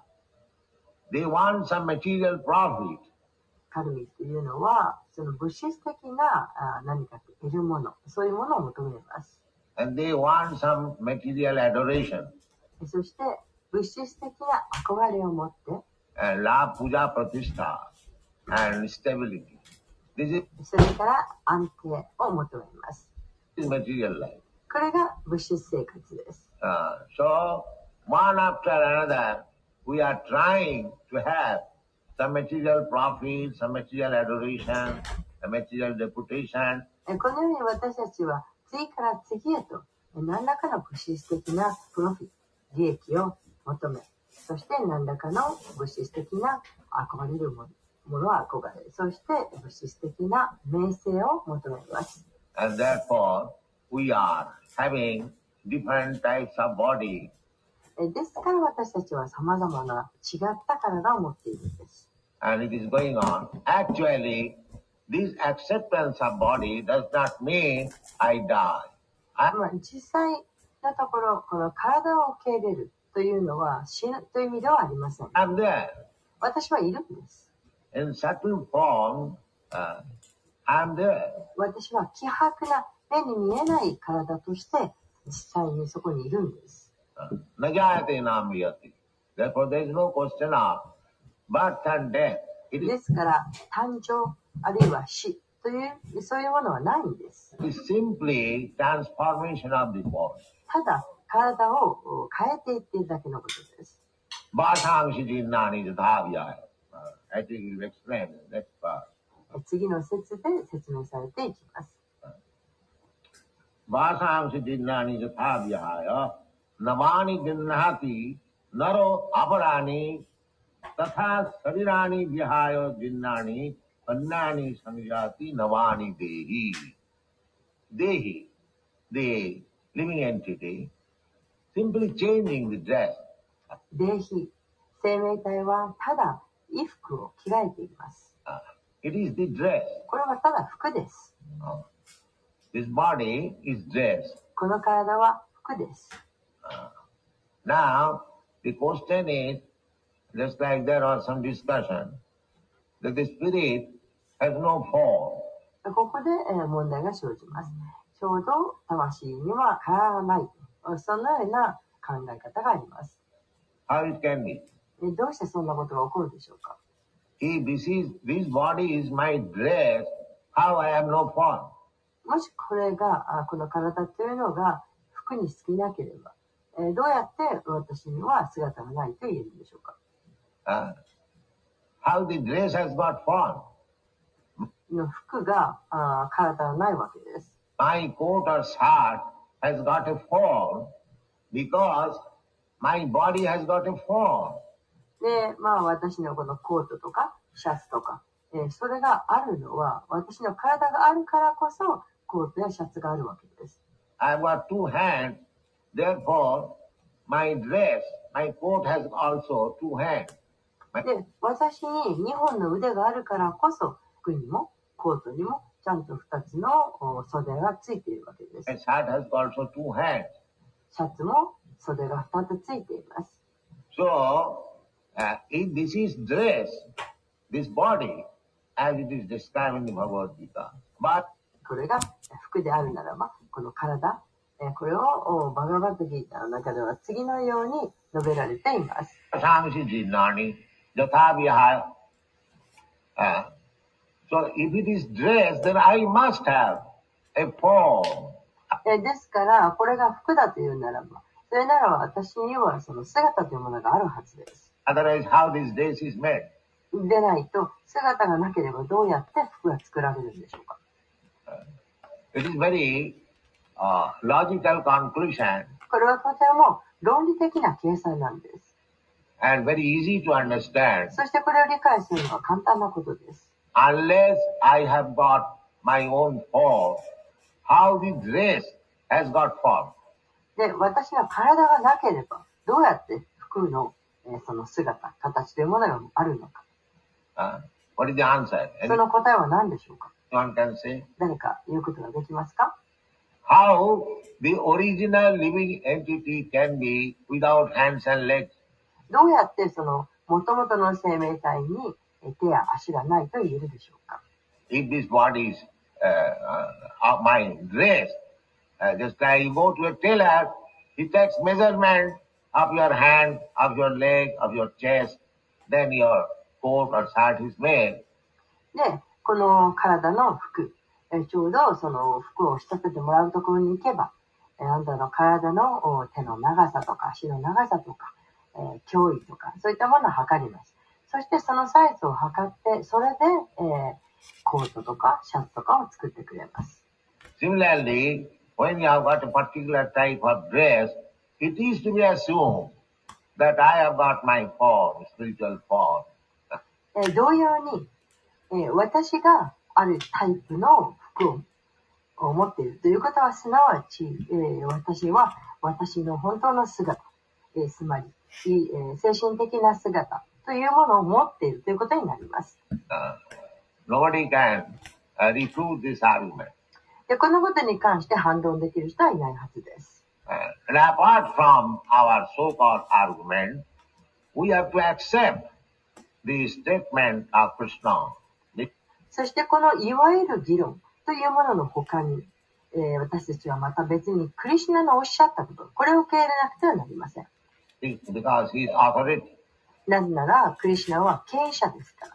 They want some material profit. カルミというのは、その物質的なあ何か得るもの、そういうものを求めます。 And they want some material adoration. そして物質的な憧れを持って、 And love, puja, pratishtha. And stability. This それから安定を求めます。 is material life. これが物質生活です。 Uh, so, one after another, we are trying to have some material profit, some material adoration, some material reputation. このように私たちは次から次へと何らかの物質的なプロフィット、利益を求め、そして何らかの物質的な憧れるもの、ものは憧れ、そして物質的な名声を求めます。 And therefore, we are having different types of body. ですから私たちは様々な違った体を持っているんです。 And it is going on. Actually, this acceptance of body does not mean I die. I... 実際のところ、この体を受け入れるというのは死ぬという意味ではありません。 I'm there. 私はいるんです。 In subtle form, uh, I'm there. 私は希薄な目に見えない体として実際にそこにいるんです。 Najayate namriyati. Therefore there is no question of birth and death. It で is すから誕生あるいは死というそういうものはないんです。 simply transformation of the body. ただ体を変えていっているだけのことです。 Vasangshi jinnani jathavyaya. I think you will explain in the next part. 次の説で説明されていきます。 Vasangshi jinnani jathavyaya. Navani jinnahati naro aparani tatha sarirani vihaya jinnani annani sanjati navani dehi. Dehi, the living entity, simply changing the dress. デヒ、生命体はただ衣服を着替えています。 It is the dress. これはただ服です。 This body is dress. この体は服です。 Now, the question is, just like there was some discussion, that the spirit has no form. ここでえー問題が生じます。ちょうど魂には体がない。そのような考え方があります。 How it can be? えどうしてそんなことが起こるでしょうか。 If this is, this body is my dress, how I have no form? もしこれが、あこの体というのが服に過ぎなければ、えーどうやって私には姿がないと言えるんでしょうか。 Uh, how the dress has got form? の服があ体はないわけです。 My coat or shirt has got a form because my body has got a form. で、まあ私のこのコートとかシャツとか、えーそれがあるのは私の体があるからこそコートやシャツがあるわけです。 I've got two hands, therefore my dress, my coat has also two hands. で、私ににほんの腕があるからこそ服にもコートにもちゃんとふたつのお袖がついているわけです。 My shirt has also two hands. シャツも袖がふたつついています。 So, uh, if this is dress, this body, as it is described in the Bhagavad Gita, but これが服であるならば、この体、えーこれをおバガバットギーターの中では次のように述べられています。 samsi jinnani jathavihaya. Uh, so if it is dress, then I must have a form. えーですから、これが服だというならば、それなら私にはその姿というものがあるはずです。 Otherwise, how this dress is made? でないと、姿がなければどうやって服が作られるんでしょうか。 It is very uh, logical conclusion これはとても論理的な計算なんです。 and very easy to understand. そしてこれを理解するのは簡単なことです。 Unless I have got my own form, how the dress has got form? で、私の体がなければ、どうやって服の、えーその姿、形というものがあるのか。 Uh, what is the answer? その答えは何でしょうか。 Anyone can say? 誰か言うことができますか。 How the original living entity can be without hands and legs? どうやってその元々の生命体にえー手や足がないと言えるでしょうか。 If this body is uh, uh, my dress, uh, just like you go to a tailor, he takes measurement of your hand, of your leg, of your chest, then your coat or shirt is made. で、この体の服、えーちょうどその服を仕立ててもらうところに行けば、えーあなたの体のお手の長さとか足の長さとか、えー胸囲とか、そういったものを測ります。そしてそのサイズを測って、それで、えーコートとかシャツとかを作ってくれます。 Similarly, when you have got a particular type of dress, it is to be assumed that I have got my form, spiritual form. えー同様に、えー私があるタイプの服を持っているということは、すなわち、えー私は私の本当の姿、えーつまり、えー精神的な姿というものを持っているということになります。 Uh, nobody can uh, refute this argument. で、このことに関して反論できる人はいないはずです。 Uh, and apart from our so-called argument, we have to accept the statement of Krishna. そしてこのいわゆる議論というものの他に、えー、私たちはまた別にクリシュナのおっしゃったこと、これを受け入れなくてはなりません。 Because he is authority. なぜなら、クリシュナは権威者ですから。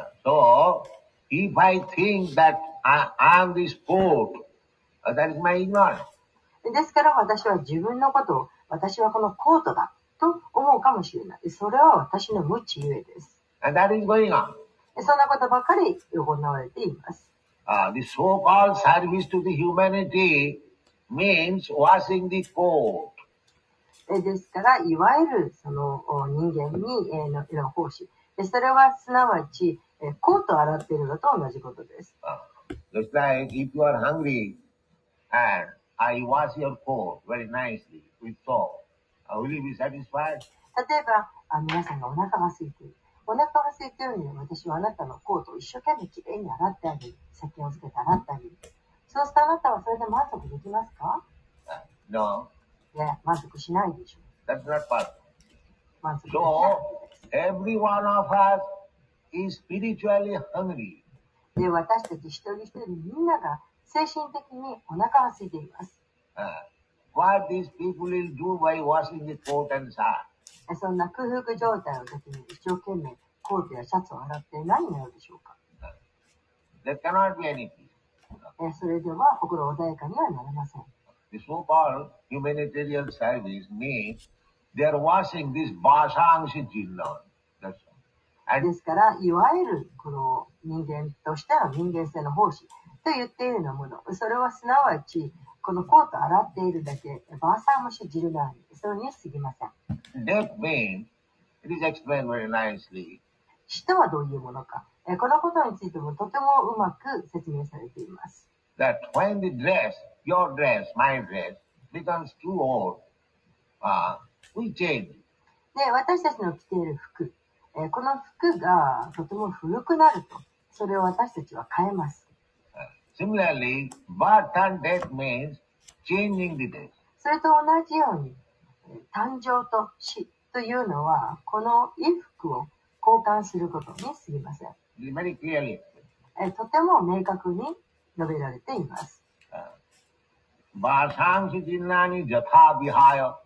Uh, so, if I think that I am this court, uh, that is my ignorance. ですから私は自分のことを、私はこのコートだと思うかもしれない。それは私の無知ゆえです。 And that is going on. そんなことばかり行われています。 Uh, the so-called service to the humanity means washing the coat. ですから、いわゆるその人間にのの奉仕。それはすなわち、コートを洗っているのと同じことです。 Uh, just like if you are hungry and I wash your coat very nicely with soap, uh, will you be satisfied? 例えばあ、皆さんがお腹が空いている。お腹が空いているのに私はあなたのコートを一生懸命きれいに洗ってあげる。石鹸をつけて洗ってあげる。そうするとあなたはそれで満足できますか？ Uh, no. いや、満足しないでしょう。 That's not possible. 満足できない。 So, every one of us is spiritually hungry. で、私たち一人一人みんなが精神的にお腹が空いています。 Uh, what these people will do by washing the coat and shirt? そんな空腹状態の時に一生懸命コートやシャツを洗って何になるでしょうか？ There cannot be any peace. それでは心穏やかにはなれません。 The so-called humanitarian service means they are washing this basangshi jinna. That's all. ですから、いわゆるこの人間としての人間性の奉仕と言っているようなもの、それはすなわちこのコートを洗っているだけ、バーサームシジルナーに、それに過ぎません。 That means, it is explained very nicely. 死とはどういうものか、このことについてもとてもうまく説明されています。 That when the dress, your dress, my dress, becomes too old, uh, we change. で、私たちの着ている服、この服がとても古くなると、それを私たちは変えます。 Similarly, birth and death means changing the dress. それと同じように、誕生と死というのは、この衣服を交換することに過ぎません。 Very clearly. とても明確に述べられています。 Vasangsi jinnani jatha vihaya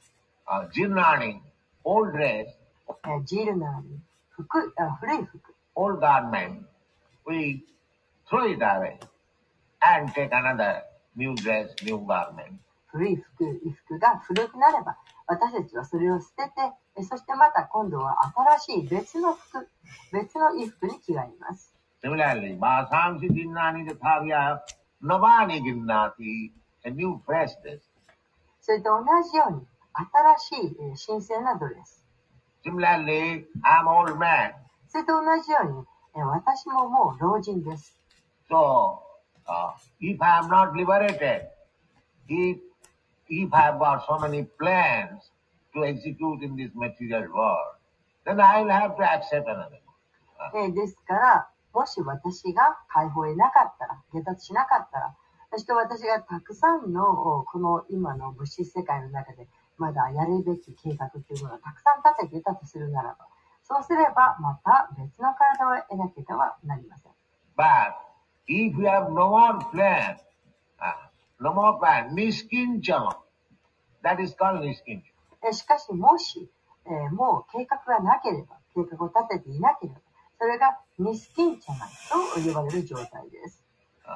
jinnani, old dress, ジルナーに服、古い服、 old garment, we throw it away and take another new dress, new garment. 古い服、衣服が古くなれば、私たちはそれを捨てて、そしてまた今度は新しい別の服、別の衣服に着替えます。 Similarly, Vasangsi jinnani jatha vihaya navani jinnati, a new fresh dress. それと同じように、新しい新鮮なドレス。 Similarly, I'm old man. それと同じように、私ももう老人です。 So, uh, if I am not liberated, if, if I have got so many plans to execute in this material world, then I will have to accept another. Uh, ですから、もし私が解放へなかったら、下脱しなかったら、そして私がたくさんのこの今の物質世界の中でまだやるべき計画というものをたくさん立てていたとするならば、そうすればまた別の体を得なければなりません。 But if you have no more plan, uh, no more plan, niskinchana, that is called niskinchana. しかしもし、えー、もう計画がなければ、計画を立てていなければ、それがニスキンチャナと呼ばれる状態です。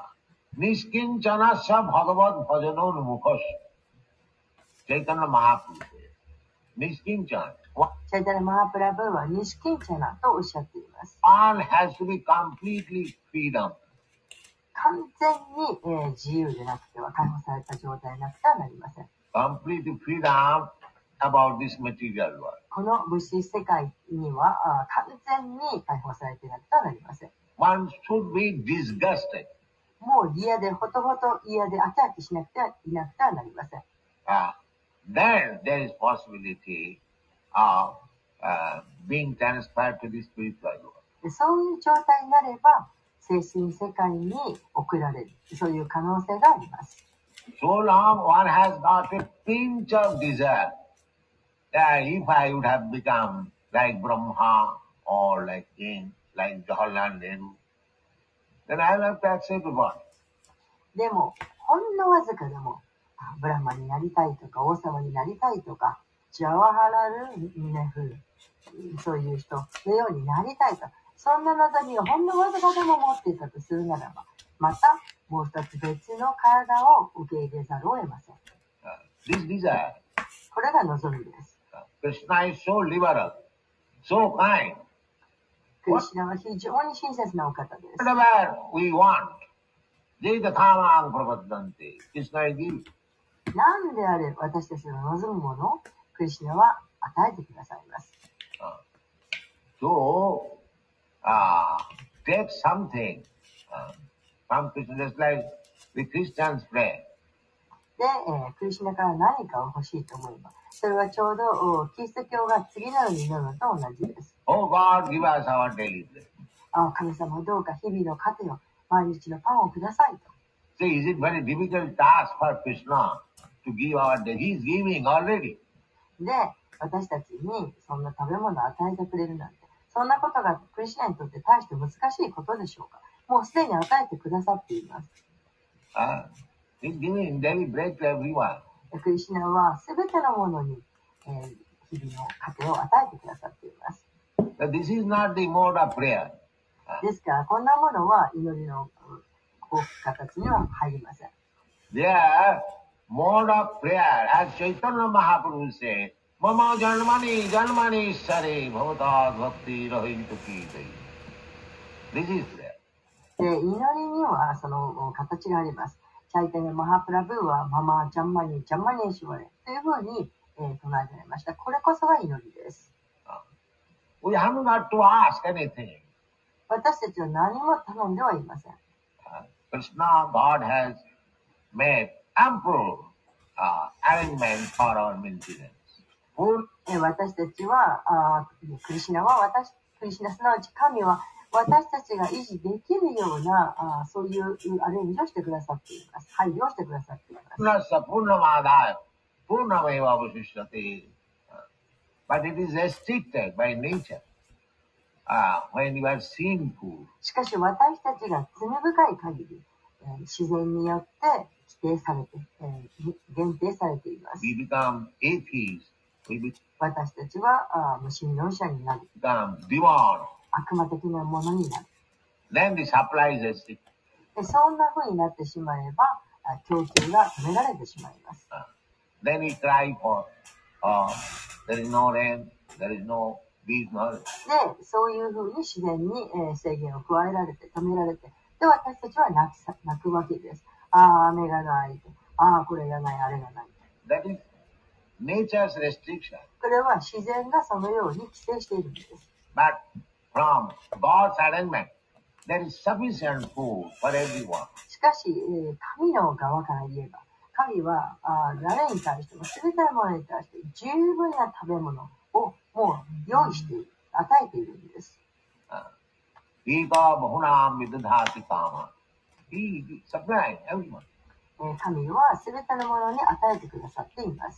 Niskinchana sa bhagavad bhajanor mukhas. Chaitanya Mahaprabhu. Niskinchana. チャイタニャ・マハプラブーはニスキンチャナとおっしゃっています。 One has to be completely freedom. 完全に、えー、自由でなくては、解放された状態でなくてはなりません。 Complete freedom about this material world. この物質世界にはあ完全に解放されていなくてはなりません。 One should be disgusted. もう嫌で、ほとほと嫌で飽き飽きしなくてはいなくてはなりません。 Uh, then there is possibility of uh, being transferred to the spiritual world. そういう状態になれば、精神世界に送られる、そういう可能性があります。 So long one has got a pinch of desire. Yeah, if I would have become like Brahma or like King, like Jawaharlal Nehru, then I will have to accept the body. でも、ほんのわずかでも、あブラマになりたいとか、王様になりたいとか、ジャワハラル・ネフル、そういう人のようになりたいと、そんな望みをほんのわずかでも持っていたとするならば、またもう一つ別の体を受け入れざるを得ません。 Uh, this desire. これが望みです。 Uh, Krishna is so liberal, so kind. クリシュナは非常に親切なお方です。 Whatever we want, Jeta Kamang Prabhadanti, Krishna is giving. 何であれ私たちの望むものをクリシュナは与えてくださいます。 Uh, so, uh, take something uh, from Krishna, just like the Christians pray. で、えー、クリシュナから何かを欲しいと思えば、それはちょうどキリスト教が次のように祈るのと同じです。 Oh God, give us our daily bread. あ、神様どうか日々の糧を、毎日のパンをくださいと。 So is it very difficult task for Krishna to give our daily? He is giving already. で、私たちにそんな食べ物を与えてくれるなんて、そんなことがクリスチャンにとって大して難しいことでしょうか。もうすでに与えてくださっています。 Uh, he's giving daily bread to everyone. クリシュナはすべてのものに、えー、日々の糧を与えてくださっています。 So this is not the mode of prayer. Uh, ですから、こんなものは祈りの形には入りません。 Their mode of prayer, as Chaitanya Mahaprabhu said, Mama Janmani Janmani Sare Bhavata Bhakti Rahintu Kite. This is prayer. で、祈りにはその形があります。チャイタニャマハプラブーはママジャンマニジャンマニエシュワレというふうに、えー、唱えられました。これこそが祈りです。 We haven't got to ask anything. 私たちは何も頼んではいません。 Krishna, God has made ample uh, arrangement for our maintenance. 私たちは、あクリシュナは私、クリシュナすなわち神は私たちが維持できるようなあそういうアレンジをしてくださっています。配慮をしてくださっています。 But it is restricted by nature. Uh, when you are sinful. しかし私たちが罪深い限り、えー、自然によって規定されて、えー、限定されています。 We become atheists. We be- 私たちはあ無神論者になる。 Become demon. 悪魔的なものになる。 Then the supply is restricted. でそんな風になってしまえば、供給が止められてしまいます。 Uh, then we cry for, uh, there is no rain, there is noで、 そういうふうに自然に、えー、制限を加えられて、止められて、で、私たちは泣き泣くわけです。ああ、雨がない。ああ、これがない、あれがない。 That is nature's restriction. これは自然がそのように規制しているんです。 But from God's arrangement, there is sufficient food for everyone. しかし、えー、神の側から言えば、神はあ誰に対しても、すべてのものに対して十分な食べ物をもう用意している、与えているんです。神はすべてのものに与えてくださっています。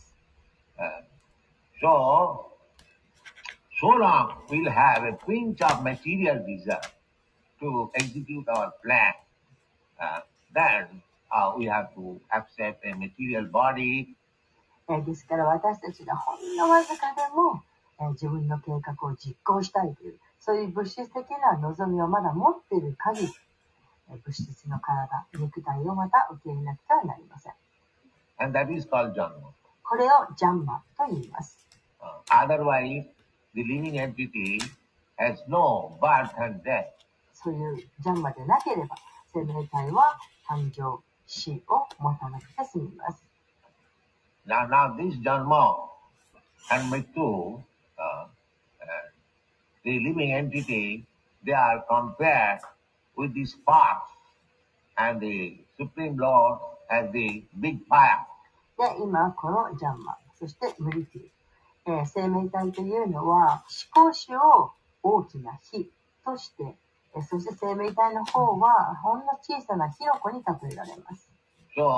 So, so long we'll have a pinch of material desire to execute our plan. Uh, then uh, we have to accept a material body. ですから私たちがほんのわずかでも自分の計画を実行したいという、そういう物質的な望みをまだ持っている限り、物質の体、肉体をまた受け入れなくてはなりません。 And that is called Janma. これをジャンマと言います。 Uh, otherwise, the living entity has no birth and death. そういうジャンマでなければ、生命体は誕生、死を持たなくて済みます。 Now, now this Janma and Mrityu, Uh, uh, the living entity, they are compared with the sparks and the Supreme Lord as the big fire. で、今このジャンマ、そしてムリティ、えー、生命体というのは思考主を大きな火として、えー、そして生命体の方はほんの小さな火の粉に例えられます。 So,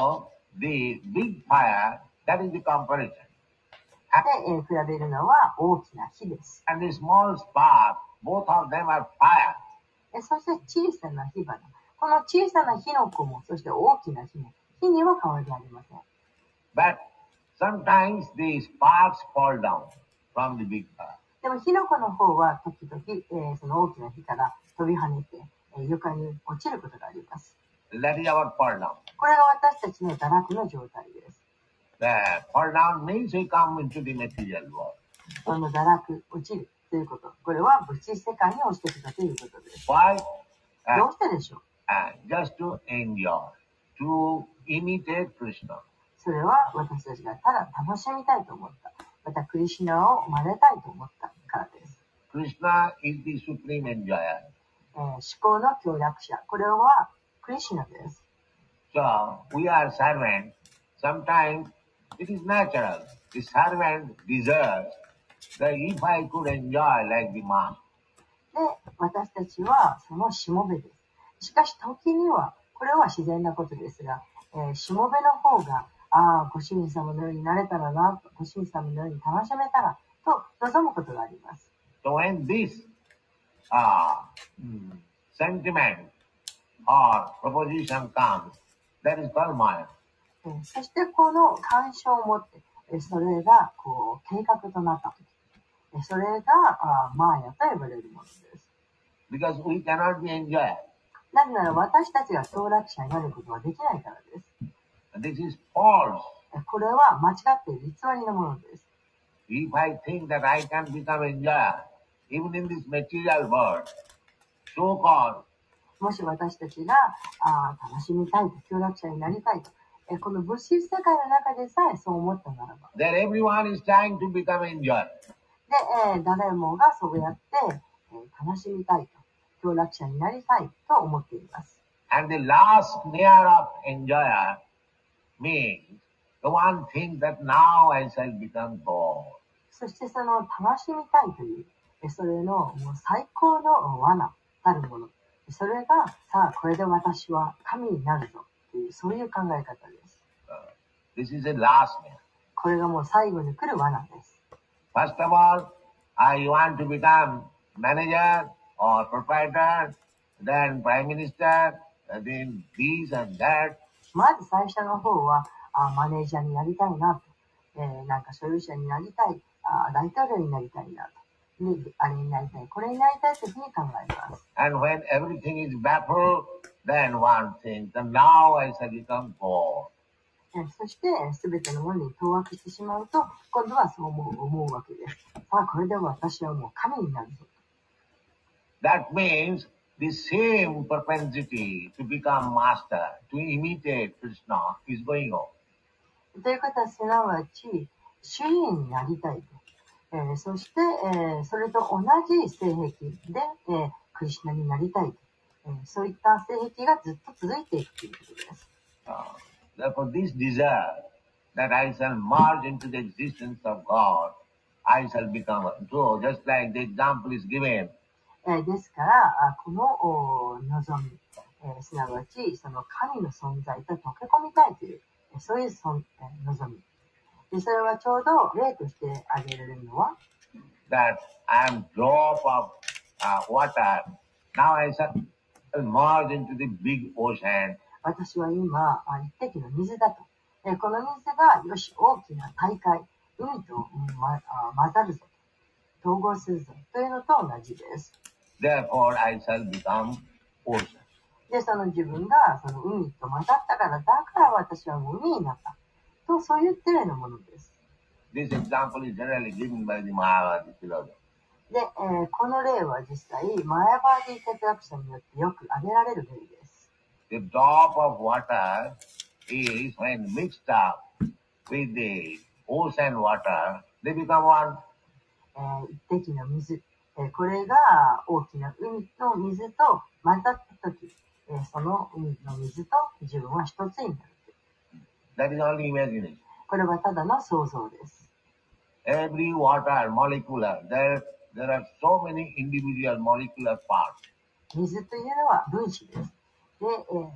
the big fire, that is the comparison. で、えー比べるのは大きな火です。 And the small spark, both of them are fire. えそして小さな火花。この小さな火の粉も、そして大きな火も、火には変わりありません。 But sometimes the sparks fall down from the big fire. でも火の粉の方は時々、えーその大きな火から飛び跳ねて、えー床に落ちることがあります。 That is our fall down. これが私たちの堕落の状態です。 The fall down means we come into the material world. この堕落、落ちるということ。これは物質世界に落ちてきたということです。 Why? ど Uh, うしてでしょう uh, just to enjoy, to imitate Krishna. それは私たちがただ楽しみたいと思った。またクリシュナを真似たいと思ったからです。 Krishna is the supreme enjoyer. えー思考の協力者。これはクリシュナです。 So, we are servants. Sometimes it is natural. The servant deserves that if I could enjoy like the master. で、私たちはそのしもべです。しかし時には、これは自然なことですが、えーしもべの方が、ああ、ご主人様のようになれたらな、ご主人様のように楽しめたら、と望むことがあります。 So when this uh, mm, sentiment or proposition comes, that is called Maya. えーそしてこの干渉を持って、えーそれがこう計画となったとき、えーそれがあーマーヤと呼ばれるものです。 Because we cannot be enjoyer. なぜなら私たちが享楽者になることはできないからです。 This is false. えーこれは間違っている偽りのものです。 If I think that I can become enjoyer, even in this material world, so-called, もし私たちがあー楽しみたいと、享楽者になりたいと、えーこの物質世界の中でさえそう思ったならば、 that everyone is trying to become enjoyer. で、えー誰もがそうやって、えー楽しみたいと、享楽者になりたいと思っています。 And the last layer of enjoyer means the one thing that now I shall become God. そしてその楽しみたいという、えーそれのもう最高の罠たるもの。それが、さあ、これで私は神になるぞという、そういう考え方です。 Uh, this is the last layer. これがもう最後に来る罠です。 First of all, I want to become manager or proprietor, then prime minister, and then this and that. まず最初の方は、あマネージャーになりたいなと、えーなんか所有者になりたい、あ大統領になりたいなと、であれになりたい、これになりたいというふうに考えます。 And when everything is baffled, then one thinks, and now I shall become God. えーそして、すべてのものに当惑してしまうと、今度はそう思う思うわけです。さあ、これで私はもう神になるぞ。 That means the same propensity to become master, to imitate Krishna is going on. ということは、すなわち、主人になりたいと。えーそして、えーそれと同じ性癖で、えークリシュナになりたいと。えーそういった性癖がずっと続いていくということです。 Uh, therefore, this desire that I shall merge into the existence of God, I shall become one. So, just like the example is given, えーですから、あこのお望み、えーすなわち、その神の存在と溶け込みたいという、えーそういうそん、えー望み。で、それはちょうど例として挙げられるのは、 that I am drop of uh, water. Now I shall merge into the big ocean. 私は今、あ一滴の水だと。えーこの水が、よし、大きな大海、海と、うんま、あ混ざるぞと。統合するぞ。というのと同じです。 Therefore, I shall become ocean. で、その自分が、その海と混ざったから、だから私はもう海になった。と、そう言ってるようなものです。 This example is generally given by the Mayavadi philosopher. で、えーこの例は実際、マヤバーディ哲学者によってよく挙げられる例です。 The drop of water is when mixed up with the ocean water, they become one. えー一滴の水、えーこれが大きな海の水と混ざったとき、えーその海の水と自分は一つになる。 That is only imagination. これはただの想像です。 Every water molecular, there, there are so many individual molecular parts. 水というのは分子です。で、えーたく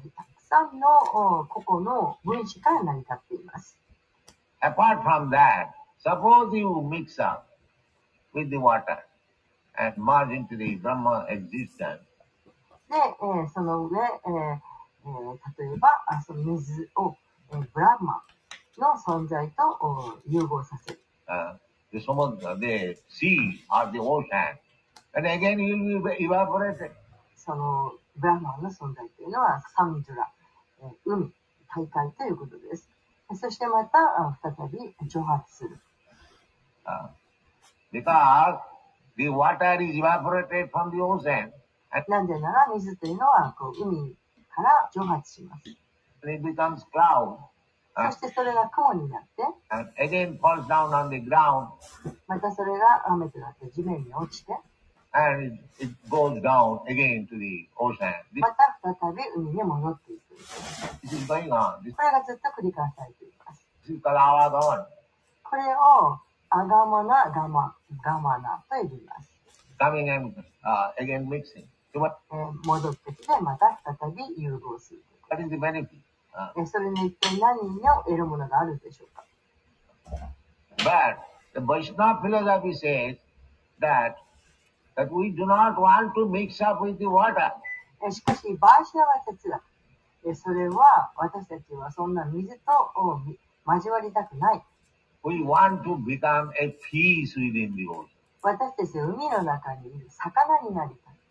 さんの個々の分子から成り立っています。 Apart from that, suppose you mix up with the water and merge into the Brahma existence. で、えー、その上、えーえー、例えば、その水を、えー、ブラフマの存在と融合させる。 Uh, the samudra, the sea or the ocean, and again you will be evaporated. そのブラフマの存在というのはサムドラ、えー、海、大海ということです。そしてまた再び蒸発する。 Uh, because the water is evaporated from the ocean. なぜなら水というのはこう海から蒸発します。 And it becomes cloud. そしてそれが雲になって、 and again falls down on the ground. またそれが雨となって地面に落ちて、 and it, it goes down again to the ocean. This, また再び海に戻っていく。 this is going on. This, これがずっと繰り返されています。 this is called avagama. これをアガマナガマガマナと呼びます。 Coming and uh, again mixing. So what, えー、戻ってきてまた再び融合する。 what is the benefit? Uh, それに一体何を得るものがあるでしょうか。 but the Vaishnava philosophy says that that we do not want to mix up with the water. しかしバーシナワ哲学、それは私たちはそんな水と交わりたくない。 We want to become a fish within the ocean. 私たちは海の中にいる魚になりたい。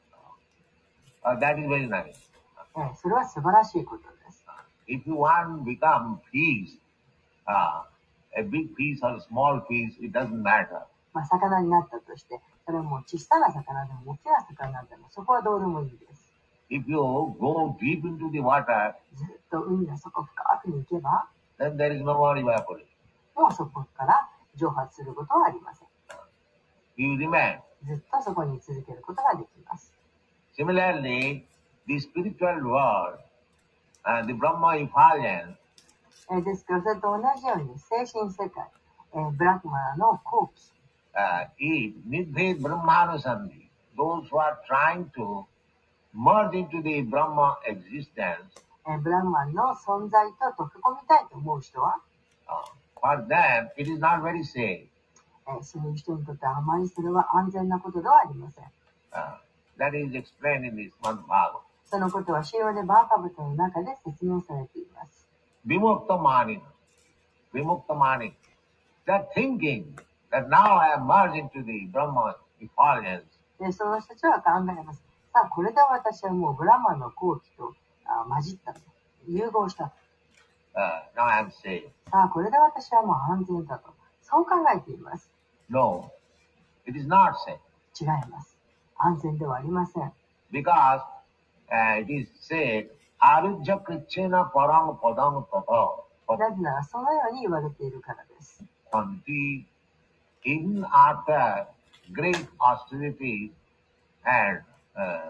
Uh, that is very nice. それは素晴らしいことです。 If you want to become fish, uh, a big fish or a small fish, it doesn't matter. まあ魚になったとして、それも小さな魚でも大きな魚でもそこはどうでもいいです。 If you go deep into the water, ずっと海の底深くに行けば、 then there is no more evaporation. もうそこから蒸発することはありません。 You remain. ずっとそこに続けることができます。 Similarly, the spiritual world and the Brahma effulgence, えですからそれと同じように精神世界、えー、ブラフマの後期、 uh, is Nidhet Brahmanusandhi. Those who are trying to merge into the Brahma existence, えー、ブラフマの存在と溶け込みたいと思う人は、 uh, for them it is not very safe. えー、そういう人にとってあまりそれは安全なことではありません。 Uh, that is explained in this Srimad Bhagavatam. そのことは資料でバーカブトの中で説明されています。 Vimukta Manina. Vimukta Manina. They are thinking that now I am merged into the Brahma effulgence. で、その人たちは考えます。さあ、これで私はもうブラマの後期とあ混じったと。融合したと。 Uh, now I am safe. さあ、これで私はもう安全だと。そう考えています。 No, it is not safe. 違います。安全ではありません。 Because uh, it is said, Arujya Krichena Parang Padang Tata. なぜならそのように言われているからです。 Until even after great austerities and uh, uh,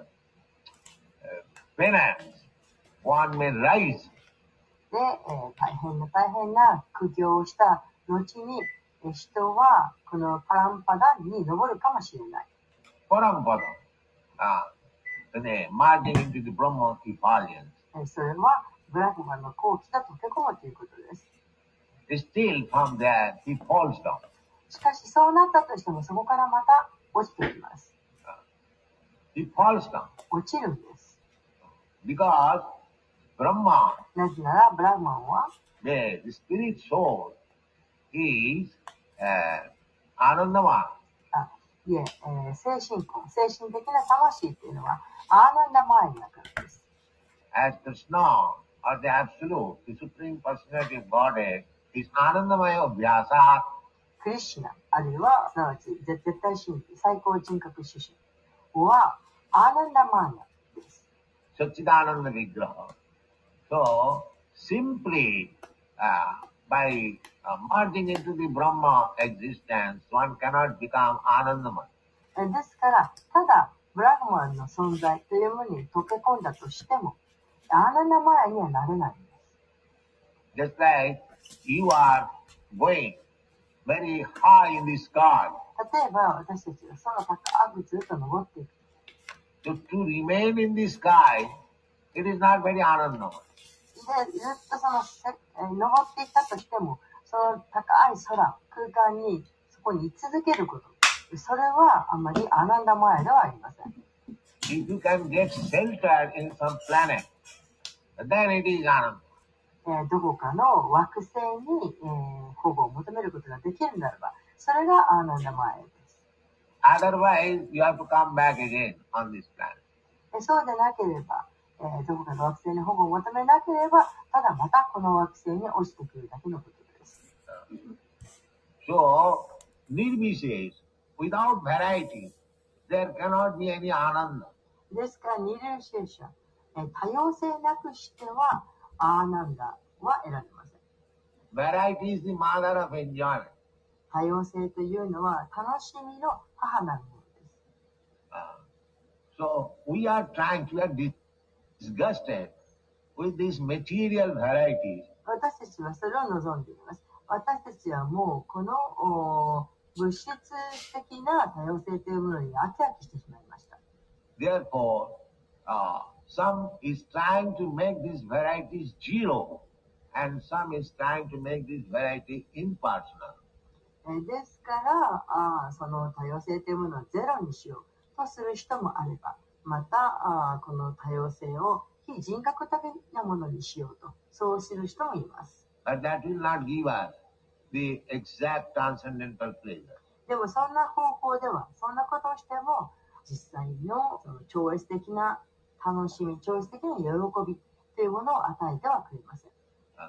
penance, one may rise. で、えー、大変な大変な苦行をした後に、えー、人はこのパランパダンに登るかもしれない。 Parang Padang. Uh, merging into the Brahma effulgence. それはブラフマの後期が溶け込むということです。 Still from there he falls down. しかしそうなったとしてもそこからまた落ちてきます。 He falls down. 落ちるんです。 Because Brahma, なぜならブラフマンは the spirit soul, is uh, Anandama. あいええー、精神魂、精神的な魂っていうのはアーナンダマーイだからです。 As Krishna, or the Absolute, the Supreme Personality of Godhead, is Anandamaya Vyasa. クリシュナ、あるいはすなわち絶対神秘、最高人格主神はアーナンダマーヤです。 Satchidananda Vigraha. So, simply uh, by uh, merging into the Brahma existence, one cannot become Anandamaya. ですから、ただブラフマンの存在というものに溶け込んだとしても、アーナンダマヤにはなれないんです。 Just like you are going very high in the sky. 例えば私たちが空高くずっと登っていく。 So to remain in the sky it is not very anandamaya. で、ずっとその、せえー登っていったとしても、その高い空、空間に、そこに居続けること。それはあまりアナンダマヤではありません。 If you can get shelter in some planet, then it is ananda. えーどこかの惑星に、えー保護を求めることができるならば、それがアーナンダマヤです。 Otherwise, you have to come back again on this planet. えそうでなければ、えーどこかの惑星に保護を求めなければ、ただまたこの惑星に落ちてくるだけのことです。 So, Nirvishesh, without variety, there cannot be any ananda. ですから、ニルシェーシャ、えー多様性なくしては、アーナンダは得られません。 Variety is the mother of enjoyment. 多様性というのは楽しみの母なるものです。 Uh, so, we are trying to be disgusted with these material varieties. 私たちはそれを望んでいます。私たちはもうこのお物質的な多様性というものに飽き飽きしてしまいました。 Therefore, uh, some is trying to make these varieties zero, and some is trying to make this variety impersonal. えーですからあー、その多様性というものをゼロにしようとする人もあれば、またあーこの多様性を非人格的なものにしようと、そうする人もいます。 But that will not give us the exact transcendental pleasure. でもそんな方法では、そんなことをしても、実際のその超越的な楽しみ、超越的な喜びというものを与えてはくれません。 Uh,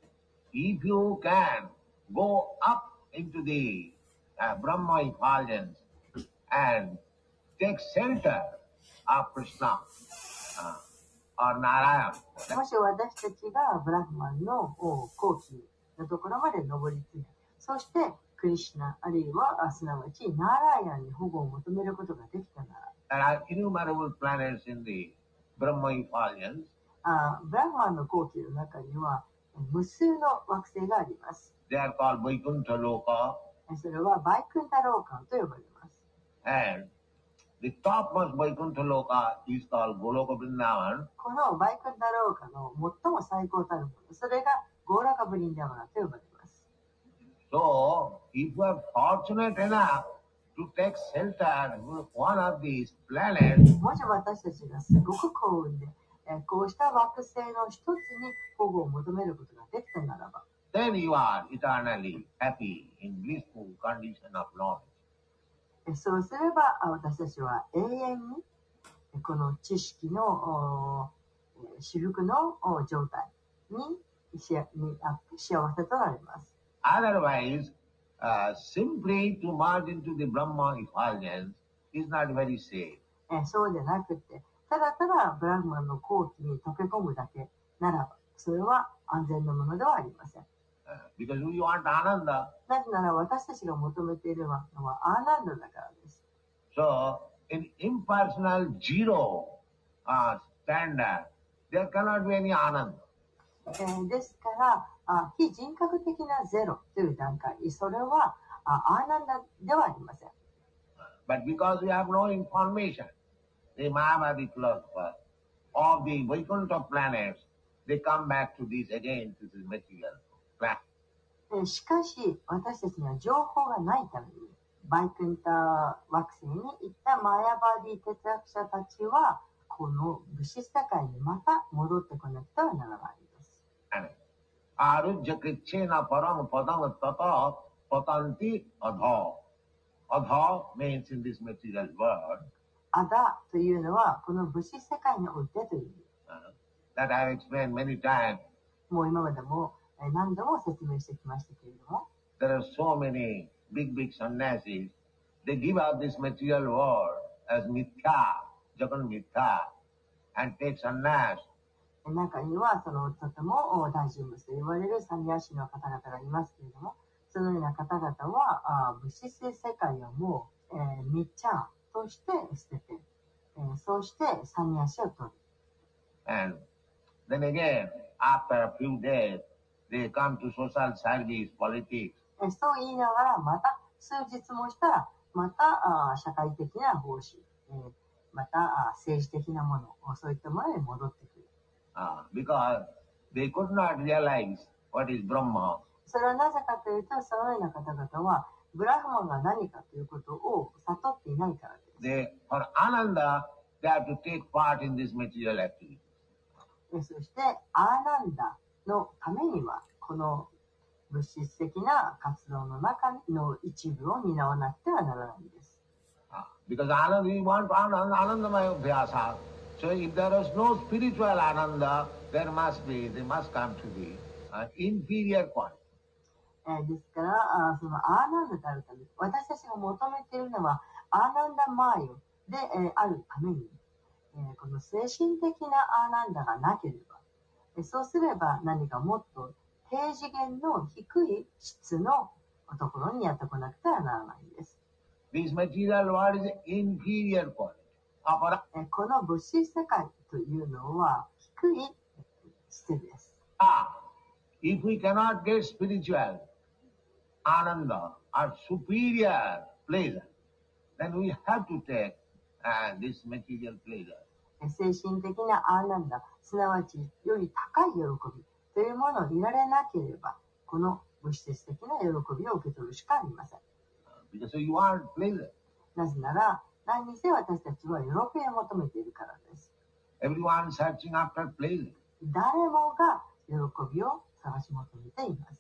if you can go up into the uh, Brahma effulgence and take shelter of Krishna uh, or Narayana, もし私たちがブラフマンの後期のところまで上り詰め、そしてクリシュナあるいはすなわちナーラヤンに保護を求めることができたなら、 there are innumerable planets in the Brahma effulgence. あブラフマンの後期の中には無数の惑星があります。 They are called Vaikuntha Loka, それはバイクンタローカンと呼ばれます。 and the topmost Vaikuntha Loka is called Goloka Vrindavan. このバイクンタローカの最も最高たるもの、それがゴーラカブリンダマナと呼ばれます。 So, if you are fortunate enough to take shelter with one of these planets, もし私たちがすごく幸運で、えーこうした惑星の一つに保護を求めることができたならば、 then you are eternally happy in blissful condition of knowledge. えそうすればあ私たちは永遠にえこの知識のおえー至福のお状態にしあにあって幸せとなります。 Otherwise, uh, simply to merge into the Brahma effulgence is not very safe. えそうじゃなくて、ただただブラフマンの後期に溶け込むだけならば、それは安全なものではありません。 Uh, because we want Ananda. なぜなら私たちが求めているのはアーナンダだからです。 So, in impersonal zero uh, standard, there cannot be any Ananda. えーですからあ、非人格的なゼロという段階、それはあアーナンダではありません。 But because we have no information, the Mayavadi philosophers of the Vaikuntha planets, they come back to this again, to this material planet. えーしかし、私たちには情報がないために、バイクンタ惑星に行ったマヤバディ哲学者たちは、この物質世界にまた戻ってこなくてはならないです。 Arujya krichena param padam tata patanti adha. Adha means in this material world. アダというのは、この物質世界においてという意味。 Uh, that I have explained many times. もう今までもえー何度も説明してきましたけれども、 There are so many big, big sannyasis. They give up this material world as mithya, jagan mithya, and take sannyas. 中にはそのとても大人物と言われるサンニャシの方々がいますけれども、そのような方々はあ物質世界をもう、えー、ミッチャーとして捨てて、えー、そうしてサンニャシを取る。 And then again, after a few days, they come to social service, politics. えー、そう言いながらまた数日もしたらまたあ社会的な方針、えー、またあ政治的なもの、そういったものに戻ってくる。 uh, because they could not realize what is Brahma. それはなぜかというと、そのような方々は、ブラフマンが何かということを悟っていないからです。 They, for Ananda, they have to take part in this material activity. そして、アーナンダのためには、この物質的な活動の中の一部を担わなくてはならないんです。 Uh, because Ananda, we want Ananda, Anandamaya Vyasa. So if there is no spiritual Ananda, there must be, there must come to be an inferior quality. えー、ですから、あそのアーナンダであるため、私たちが求めているのはアーナンダマーヨで、えー、あるために、えー、この精神的なアーナンダがなければ、えー、そうすれば何かもっと低次元の低い質のところにやってこなくてはならないんです。 This material world is inferior quality. えー、この物質世界というのは低い質です。 Ah, if we cannot get spiritual Ananda or superior pleasure, then we have to take uh, this material pleasure. 精神的なアーナンダ、すなわちより高い喜びというものを得られなければ、この物質的な喜びを受け取るしかありません。 Because you want pleasure. なぜなら、何にせ私たちは喜びを求めているからです。 Everyone searching after pleasure. 誰もが喜びを探し求めています。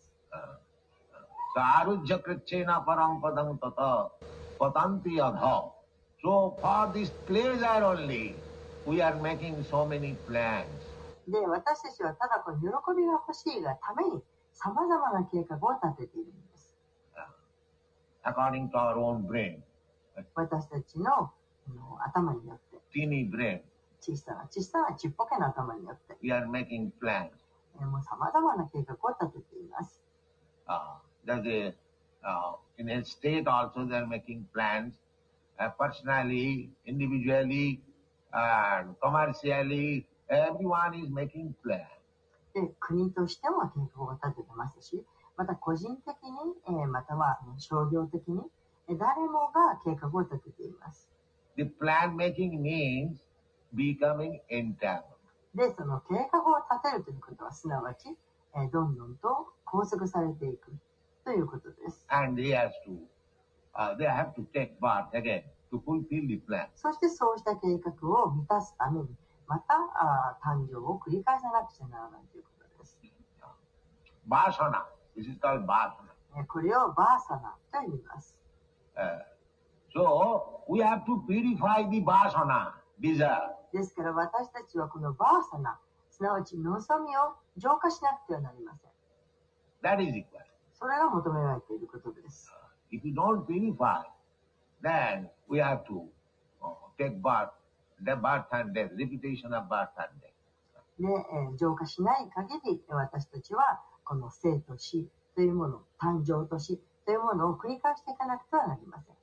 Sarujya krichena param padam tata patanti adha. So for this pleasure only, we are making so many plans. で、私たちはただこの喜びが欲しいがために様々な計画を立てているんです。 According to our own brain. 私たちの頭によって。 Teeny brain. 小さな小さなちっぽけな頭によって。 We are making plans. もう様々な計画を立てています。 Uh, that is, uh, in a state also they are making plans, uh, personally, individually, and commercially, everyone is making plans. で、国としても計画を立ててますし、また個人的に、えー、または商業的に、えー、誰もが計画を立てています。 The plan making means becoming entangled. で、その計画を立てるということは、すなわち、えー、どんどんと拘束されていくということです。 And they have to, uh, they have to take part again to fulfill the plan. そしてそうした計画を満たすために、またあ誕生を繰り返さなくちゃならないということです。 バーサナ。This is called バーサナ。 これをバーサナと言います。 Uh, so, we have to purify the バーサナ、desire. ですから私たちはこのバーサナ、すなわち望みを浄化しなくてはなりません。 That is required. それが求められていることです。 If you don't purify, then we have to uh, take birth, the birth and death, repetition of birth and death. で、えー、浄化しない限り私たちはこの生と死というもの、誕生と死というものを繰り返していかなくてはなりません。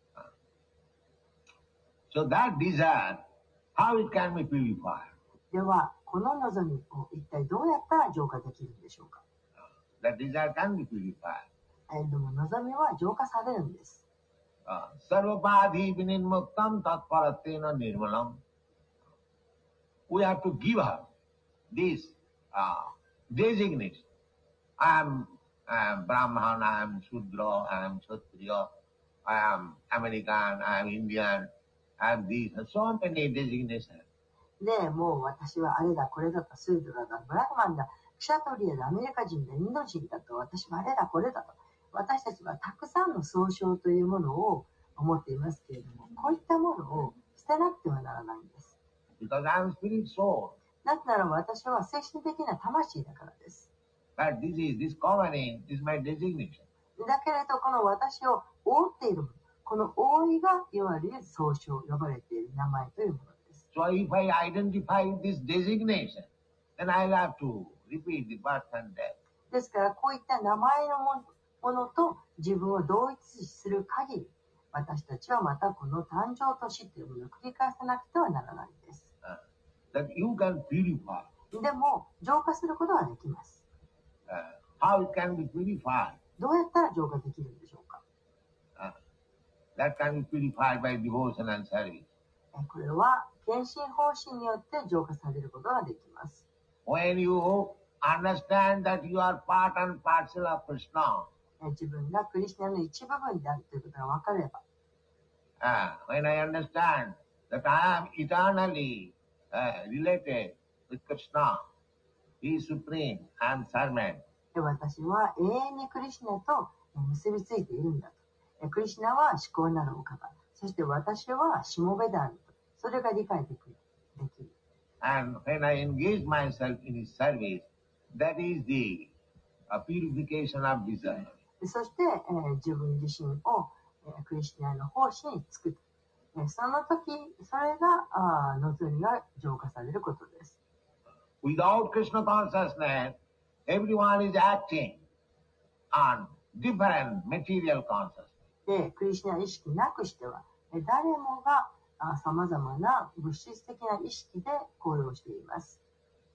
So that desire, how it can be purified? では、この望みを一体どうやったら浄化できるんでしょうか。 That desire can be purified. えー、でも望みは浄化されるんです。 Sarvapādhi vinirmuktam tatparatena nirmalam. We have to give her this uh, designation. I am, I am Brahman, I am Shudra, I am Kshatriya, I am American, I am Indian, I am these, so many designations. で、もう私はあれだ、これだと、スードラだ、ブラフマンだ、クシャトリアだ、アメリカ人だ、インド人だと、私はあれだ、これだと。私たちはたくさんの総称というものを持っていますけれども、こういったものを捨てなくてはならないんです。 Because I am spirit soul. なぜなら私は精神的な魂だからです。 But this is, this covering is my designation. だけれど、この私を覆っているもの、この覆いがいわゆる総称、呼ばれている名前というものです。 So if I identify this designation, then I'll have to repeat the birth and death. ですから、こういった名前のものものと自分を同一視する限り、私たちはまたこの誕生と死というものを繰り返さなくてはならないです。 Uh, that you can purify. でも、浄化することはできます。 Uh, how it can be purified? どうやったら浄化できるんでしょうか。 Uh, that can be purified by devotion and service. これは、献身奉仕によって浄化されることができます。 when you understand that you are part and parcel of Krishna, 自分がクリスナの一部分であるということが分かれば、 uh, when I understand that I am eternally uh, related with Krishna, He is supreme, I am servant. で私は永遠にクリシュナと結びついているんだと。クリシュナは至高なるお方。そして私はしもべであると。それが理解できる。できる。 And when I engage myself in His service, that is the uh, purification of desire. そして、えー、自分自身を、えー、クリシュナの奉仕につく。えー、その時、それがあ望みが浄化されることです。 Without Krishna consciousness, everyone is acting on different material consciousness. で、クリシュナ意識なくしては、誰もがさまざまな物質的な意識で行動しています。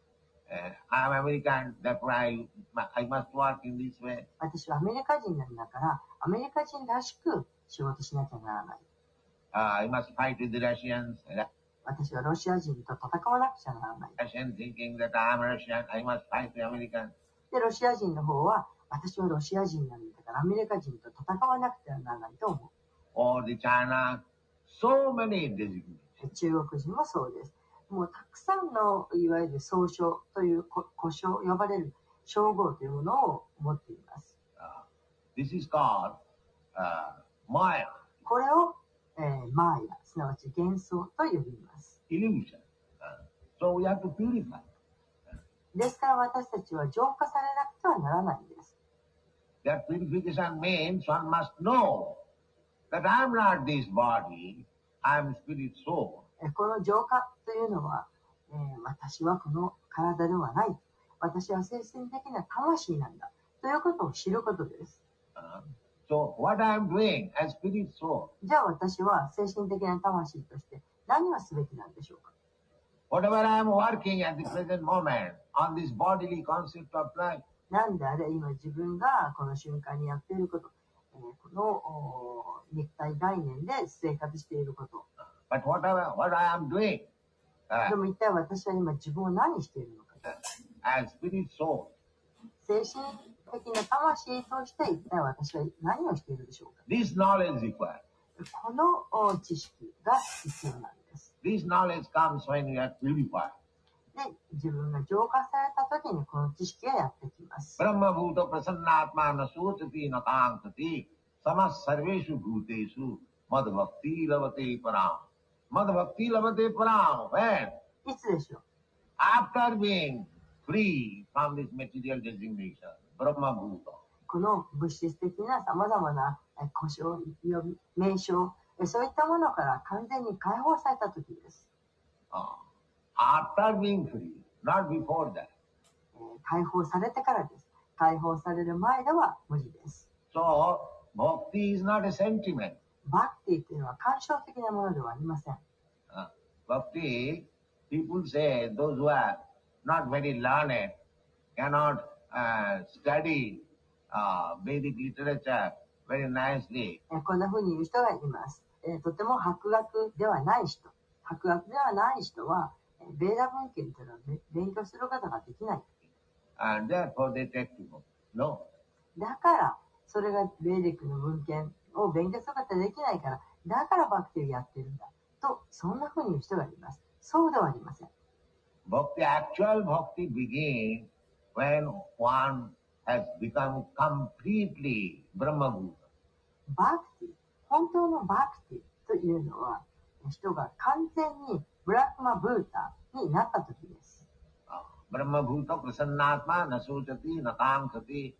Uh, I am American, therefore I, I must work in this way. 私はアメリカ人なんだから、アメリカ人らしく仕事しなきゃならない。 Uh, I must fight with the Russians. 私はロシア人と戦わなくちゃならない。 Russian thinking that I am Russian, I must fight the Americans. で、ロシア人の方は、私はロシア人なんだから、アメリカ人と戦わなくてはならないと思う。 Or the China, so many designations. 中国人もそうです。もうたくさんのいわゆる総称という呼称、呼ばれる称号というものを持っています。 Uh, this is called、uh, Maya. これを、えー、マーヤ、すなわち幻想と呼びます。 Illusion. Uh, so we have to purify. ですから私たちは浄化されなくてはならないんです。 That purification means one must know that I am not this body, I am spirit soul. この浄化というのは、えー、私はこの体ではない。私は精神的な魂なんだ。ということを知ることです。 Uh, so what I am doing as spirit soul? じゃあ私は精神的な魂として何をすべきなんでしょうか？ Whatever I am working at the present moment on this bodily concept of life. なんであれ今自分がこの瞬間にやっていること、えー、この肉体概念で生活していること。 But whatever, what I am doing, uh, でも一体私は今自分を何しているのか。 as spirit soul. 精神的な魂として一体私は何をしているでしょうか。 This knowledge required. この知識が必要なんです。 This knowledge comes when you are purified. で、自分が浄化された時にこの知識がやってきます。 Brahma bhuta prasannatma na sotati na kankati samas sarveshu bhuteshu mad bhakti lavate param. Mad bhakti lavate param. When? いつでしょう？ After being free from this material designation, Brahma bhuta. この物質的な様々な呼称、名称、そういったものから完全に解放された時です。 Uh, after being free, not before that. 解放されてからです。解放される前では無理です。 So, bhakti is not a sentiment. バクティというのは感傷的なものではありません。 Uh, bhakti, people say, those who are not very learned, cannot uh, study uh, Vedic literature very nicely. こんな風に言う人がいます。えー、とても博学ではない人。博学ではない人は、ベーダ文献というのは勉強することができない。 And therefore they take to go. No. だから、それがベーディックの文献を勉強することができないから、だからバクティをやってるんだ。と、そんな風に言う人がいます。そうではありません。 Bhakti, actual bhakti begins when one has become completely Brahma-bhuta. バクティ、本当のバクティというのは、人が完全にブラッマブータになった時です。 Brahma-bhuta prasannatma na sochati na kankati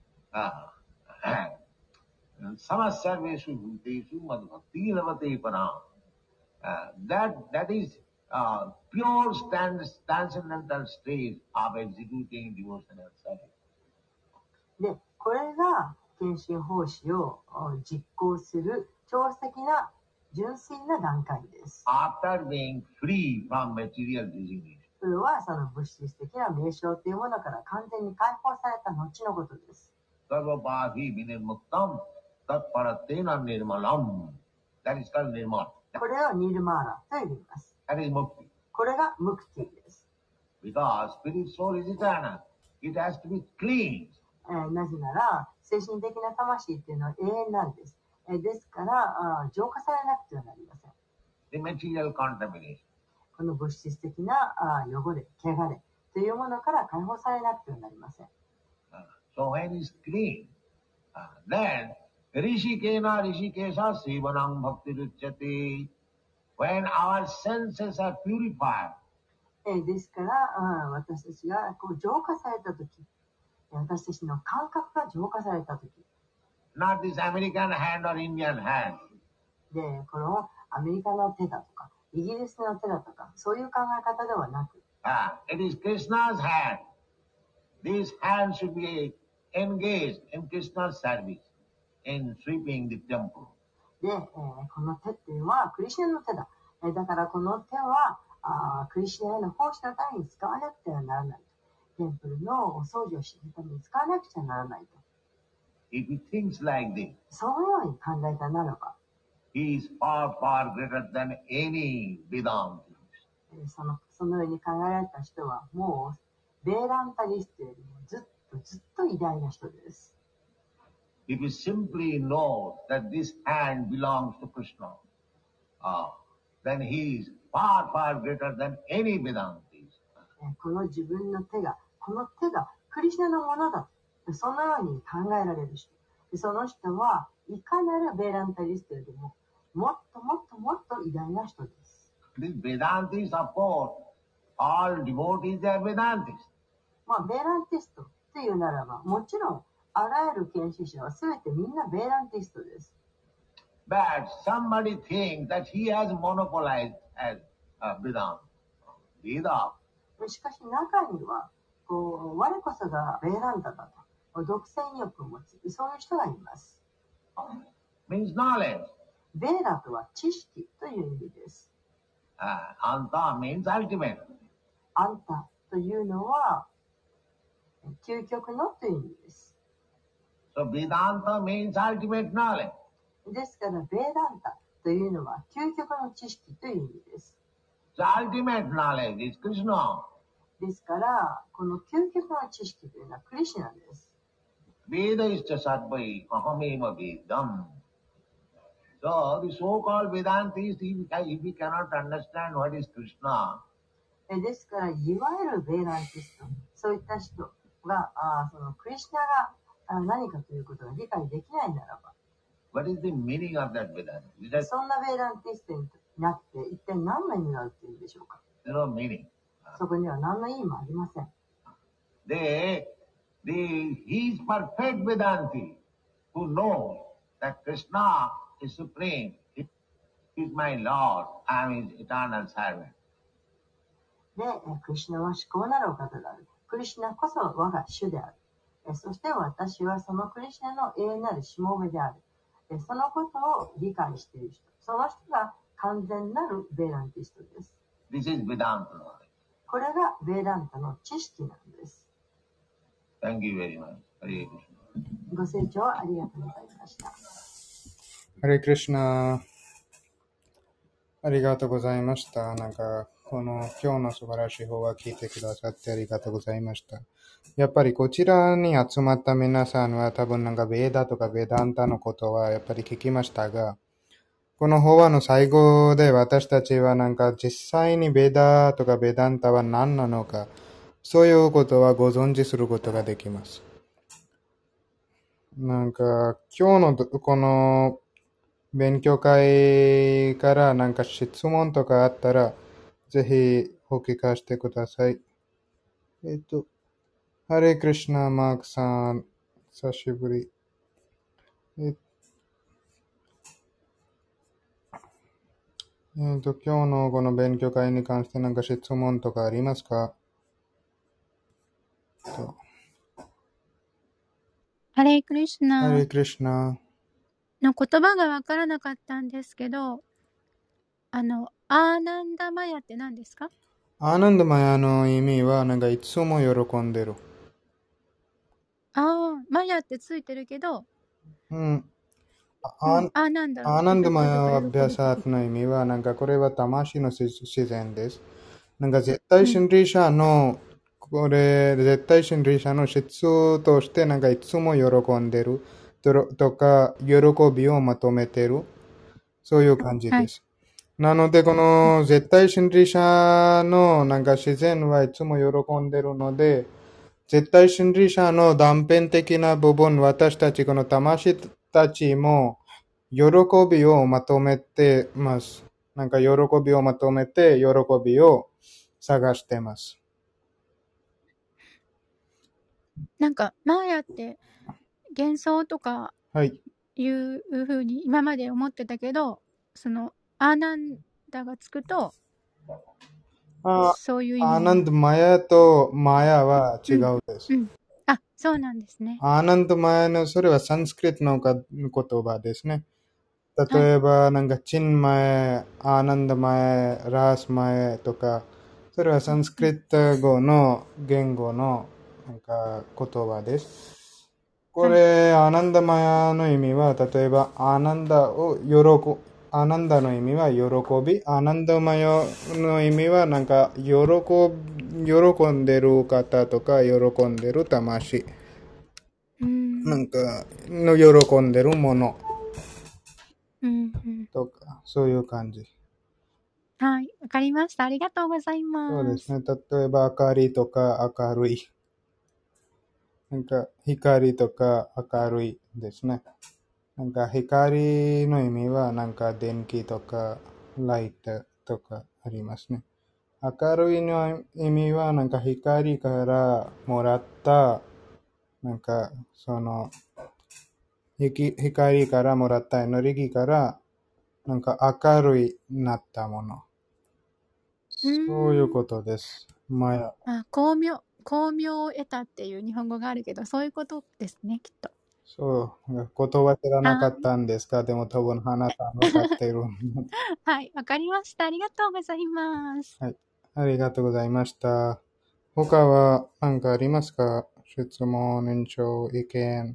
samas sarveshu bhuteshu mad bhakti lavate param. That, that is uh, pure stand, transcendental stage of executing devotional service. で、これが献身奉仕を実行する超越的な純粋な段階です。 After being free from material designation. それはその物質的な名称というものから完全に解放された後のことです。 Sarvapāhi vinirmuktam tatparatena nirmalam. That is called nirmal. これをニルマーラと呼びます。 That is mukti. これがムクティです。 Because spirit soul is eternal. It has to be clean. えーなぜなら、精神的な魂っていうのは永遠なんです。えーですからあー、浄化されなくてはなりません。 The material contamination. この物質的なあー汚れ、汚れというものから解放されなくてはなりません。 Uh, so when it's clean, uh, then Rishikena Rishikesha Sivanam Bhakti Ruchyate. When our senses are purified, えーですから、あー私たちがこう浄化されたとき、私たちの感覚が浄化されたとき、 not this American hand or Indian hand. で、このアメリカの手だとか、イギリスの手だとか、そういう考え方ではなく、 Ah, it is Krishna's hand. This hand should be engaged in Krishna's service, in sweeping the temple. で、えーこの手っていうのはクリシュナの手だ。えーだからこの手はあークリシュナへの奉仕のために使わなくてはならないと。テンプルのお掃除をするために使わなくちゃならないと。 If he thinks like this, そのように考えたならば、 he is far, far greater than any Vedanta. えーその、そのように考えられた人はもうベーランタリストよりもずっとずっと偉大な人です。 If he simply knows that this hand belongs to Krishna, ah, then he is far, far greater than any Vedantis. えーこの自分の手が、この手がクリシュナのものだ。そのように考えられる人。でその人はいかなるベーランタリストよりももっともっともっと偉大な人です。 These Vedantis, of course, all devotees, they are Vedantis. まあ、ベーランティストというならば、もちろんあらゆる研修者は全てみんなベーランティストです。 But somebody thinks that he has monopolized as uh, Vedanta. Veda. しかし中にはこう我こそがベーランタだと独占欲を持つ、そういう人がいます。 Means knowledge. ベーラとは知識という意味です。 Uh, anta means ultimate. アンタというのは究極のという意味です。 So Vedanta means ultimate knowledge. ですからベーランタというのは究極の知識という意味です。 So ultimate knowledge is Krishna. ですからこの究極の知識というのはクリシュナです。 Veda is sarvai ahameva vedam. So the so-called Vedantis, if, if we cannot understand what is Krishna, えですからいわゆるベーランティスト、そういった人があそのクリシュナがあ何かということが理解できないならば、 what is the meaning of that Vedanta? Is that そんなベーランティストになって一体何の意味があるというんでしょうか。 there's no meaning. そこには何の意味もありません。 They, the, he is perfect Vedanti who knows that Krishna is supreme. He is my Lord. I am his eternal servant. で、クリシュナは至高なるお方である。クリシュナこそ我が主である。そして私はそのクリシュナの永遠なるしもべである。そのことを理解している人。その人が完全なるベーランティストです。 This is Vedanta knowledge. これがベーランタの知識なんです。 Thank you very much. Hare Krishna. ご清聴ありがとうございました。 ハレクリシュナ、ありがとうございました。なんか、この今日の素晴らしい法話聞いてくださってありがとうございました。やっぱりこちらに集まった皆さんは多分なんかベーダとかベダンタのことはやっぱり聞きましたが、この法話の最後で私たちはなんか実際にベーダとかベダンタは何なのか、そういうことはご存知することができます。なんか今日のこの勉強会からなんか質問とかあったらぜひお聞かせてください。えっと、ハレクリシュナマークさん、久しぶり。えっえっと、今日のこの勉強会に関してなんか質問とかありますか？とハレークリシュナハレクリシュナ。 の言葉がわからなかったんですけど、あの、アーナンダマヤって何ですか？ アーナンダマヤの意味はなんかいつも喜んでる。 ああ、マヤってついてるけど、 うん。 あ、うん、あなんだろう。 アーナンダマヤはアビャサートの意味はなんかこれは魂の自然です。 なんか絶対心理者の、これ、絶対心理者の質として、なんかいつも喜んでるととか、喜びをまとめてる。そういう感じはい。 です。なので、この絶対心理者のなんか自然はいつも喜んでるので、絶対心理者の断片的な部分、私たち、この魂たちも、喜びをまとめてます。なんか喜びをまとめて、喜びを探してます。 なんか、マーヤって幻想とかはい。 いうふうに今まで思ってたけど、その、アーナンダがつくと、 あそういう意味アーになる。 ナンドマヤとマヤは違うん。 うです。 うん。あ、そうなんですね。 アーナンドマヤの、それはサンスクリットのか言葉ですね。 はい。 例えば、なんか、チンマエ、アーナンドマエ、ラースマエとか、それはサンスクリット語の言語のなんか言葉です。こはい。 れ、アーナンダマヤの意味は、例えば、アーナンダを喜ぶ、アーナンダの意味は喜び、アーナンダマヤの意味は、なんか、喜ぶ、喜んでる方とか、喜んでる魂。 うーん。 なんか、の喜んでるものうんうん。 とか、そういう感じ。 はい。わかりました。ありがとうございます。 そうですね。例えば、明かりとか明るい。なんか、光とか明るいですね。なんか、光の意味は、なんか、電気とか、ライトとかありますね。明るいの意味は、なんか、光からもらった、なんか、その、光からもらったエネルギーから、なんか、明るいなったもの。 うーそういうん。 ことです。まあ、 あ、光明、光明を得たっていう日本語があるけど、そういうことですね、きっと。 そう、言葉知らなかはったんですか？でも多分、花さん分かってる。 はい、わかりました。ありがとうございます。 はい。ありがとうございました。他は何かありますか？質問、延長、意見。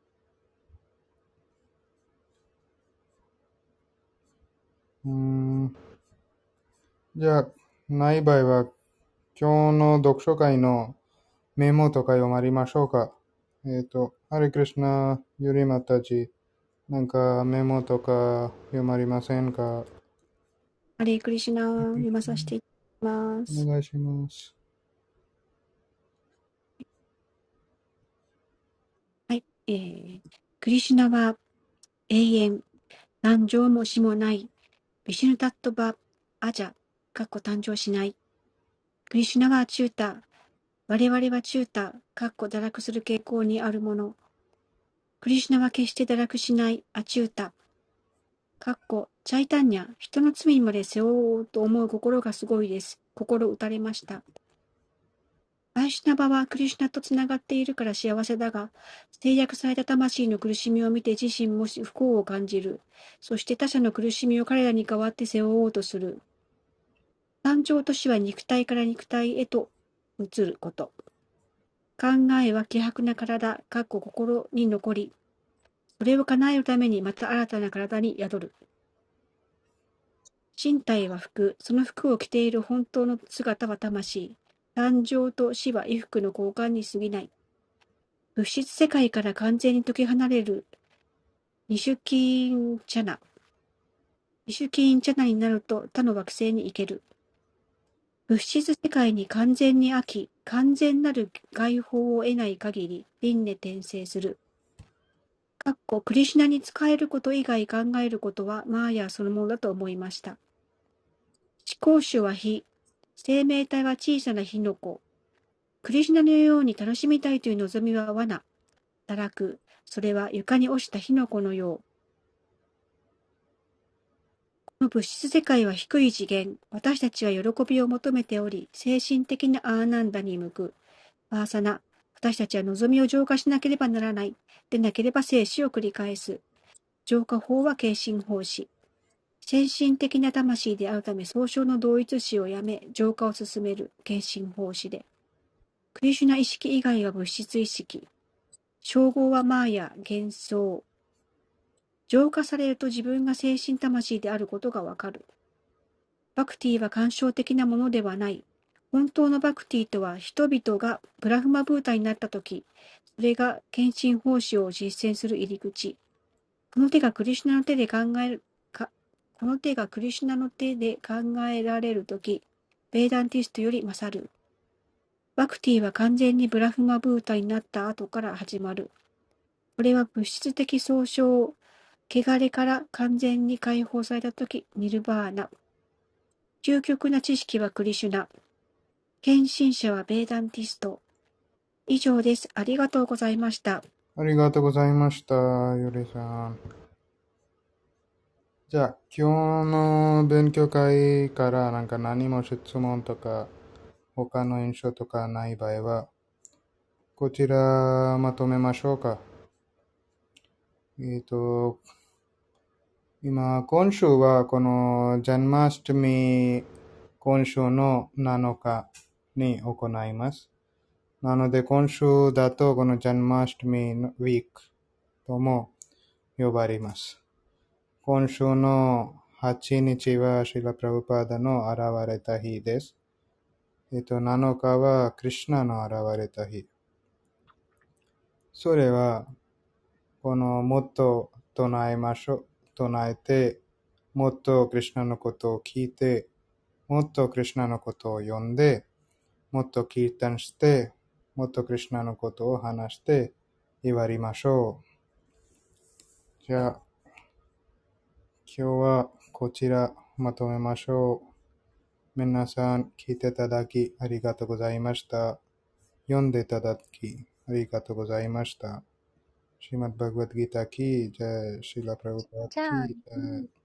うーん。じゃあ、ない場合は、今日の読書会のメモとか読まれましょうか？えっと、ハレクリシナ、ユリマタジ、なんかメモとか読まれませんか？ ハレークリシナ読まさせていただきます。 お願いします。 はい。えー、クリシュナは永遠、何乗もしもない、ビシュヌタットバ・アジャ、かっこ誕生しない。クリシュナはチュータ、我々はチュータ、かっこ堕落する傾向にあるもの。クリシュナは決して堕落しないアチュータ、かっこチャイタンニャ、人の罪まで背負おうと思う心がすごいです。心打たれました。バイシュナバはクリシュナとつながっているから幸せだが、制約された魂の苦しみを見て自身も不幸を感じる。そして他者の苦しみを彼らに代わって背負おうとする。誕生と死は肉体から肉体へと移ること。考えは希薄な体、かっこ心に残り、それを叶えるためにまた新たな体に宿る。身体は服、その服を着ている本当の姿は魂。誕生と死は衣服の交換に過ぎない。物質世界から完全に解き離れるニシュキーンチャナ。ニシュキーンチャナになると他の惑星に行ける。物質世界に完全に飽き、完全なる解放を得ない限り、輪廻転生する。かっこクリシュナに仕えること以外考えることはマーヤそのものだと思いました。思考主は火、生命体は小さな火の粉。クリシュナのように楽しみたいという望みは罠。堕落。それは床に落ちた火の粉のよう。この物質世界は低い次元。私たちは喜びを求めており、精神的なアーナンダに向く。バーサナ。私たちは望みを浄化しなければならない。でなければ生死を繰り返す。浄化法は軽心法師。先進的な魂であるため、総称の同一視をやめ、浄化を進める軽心法師で。クリシュナ意識以外は物質意識。称号はマーヤ、幻想。浄化されると自分が精神魂であることがわかる。 バクティは感傷的なものではない。本当のバクティとは、人々がブラフマブータになったとき、それが献身奉仕を実践する入り口。この手がクリシュナの手で考えるか、この手がクリシュナの手で考えられるとき、ベーダンティストより勝る。バクティは完全にブラフマブータになった後から始まる。これは物質的総称、汚れから完全に解放されたとき、ニルバーナ。究極な知識はクリシュナ。献身者はベーダンティスト。以上です。ありがとうございました。 ありがとうございました、ゆりさん。じゃあ、今日の勉強会からなんか何も質問とか、他の印象とかない場合は、こちらまとめましょうか。えっと、今、今週はこのジャンマスタミ、今週のなのかに行います。なので、今週だとこのジャンマスタミのウィークとも呼ばれます。今週のはちにちはシラ・プラブパーダの現れた日です。えっと、なのかはクリシュナの現れた日。それは、このもっと唱えましょう。唱えて、もっとクリシュナのことを聞いて、もっとクリシュナのことを読んで、もっとキータンして、もっとクリシュナのことを話して言われましょう。じゃあ、今日はこちらまとめましょう。皆さん聞いていただきありがとうございました。読んでいただきありがとうございました。श्रीमद् भगवद गीता की जय, श्रीला प्रभुपाद じゃあ、 की जय।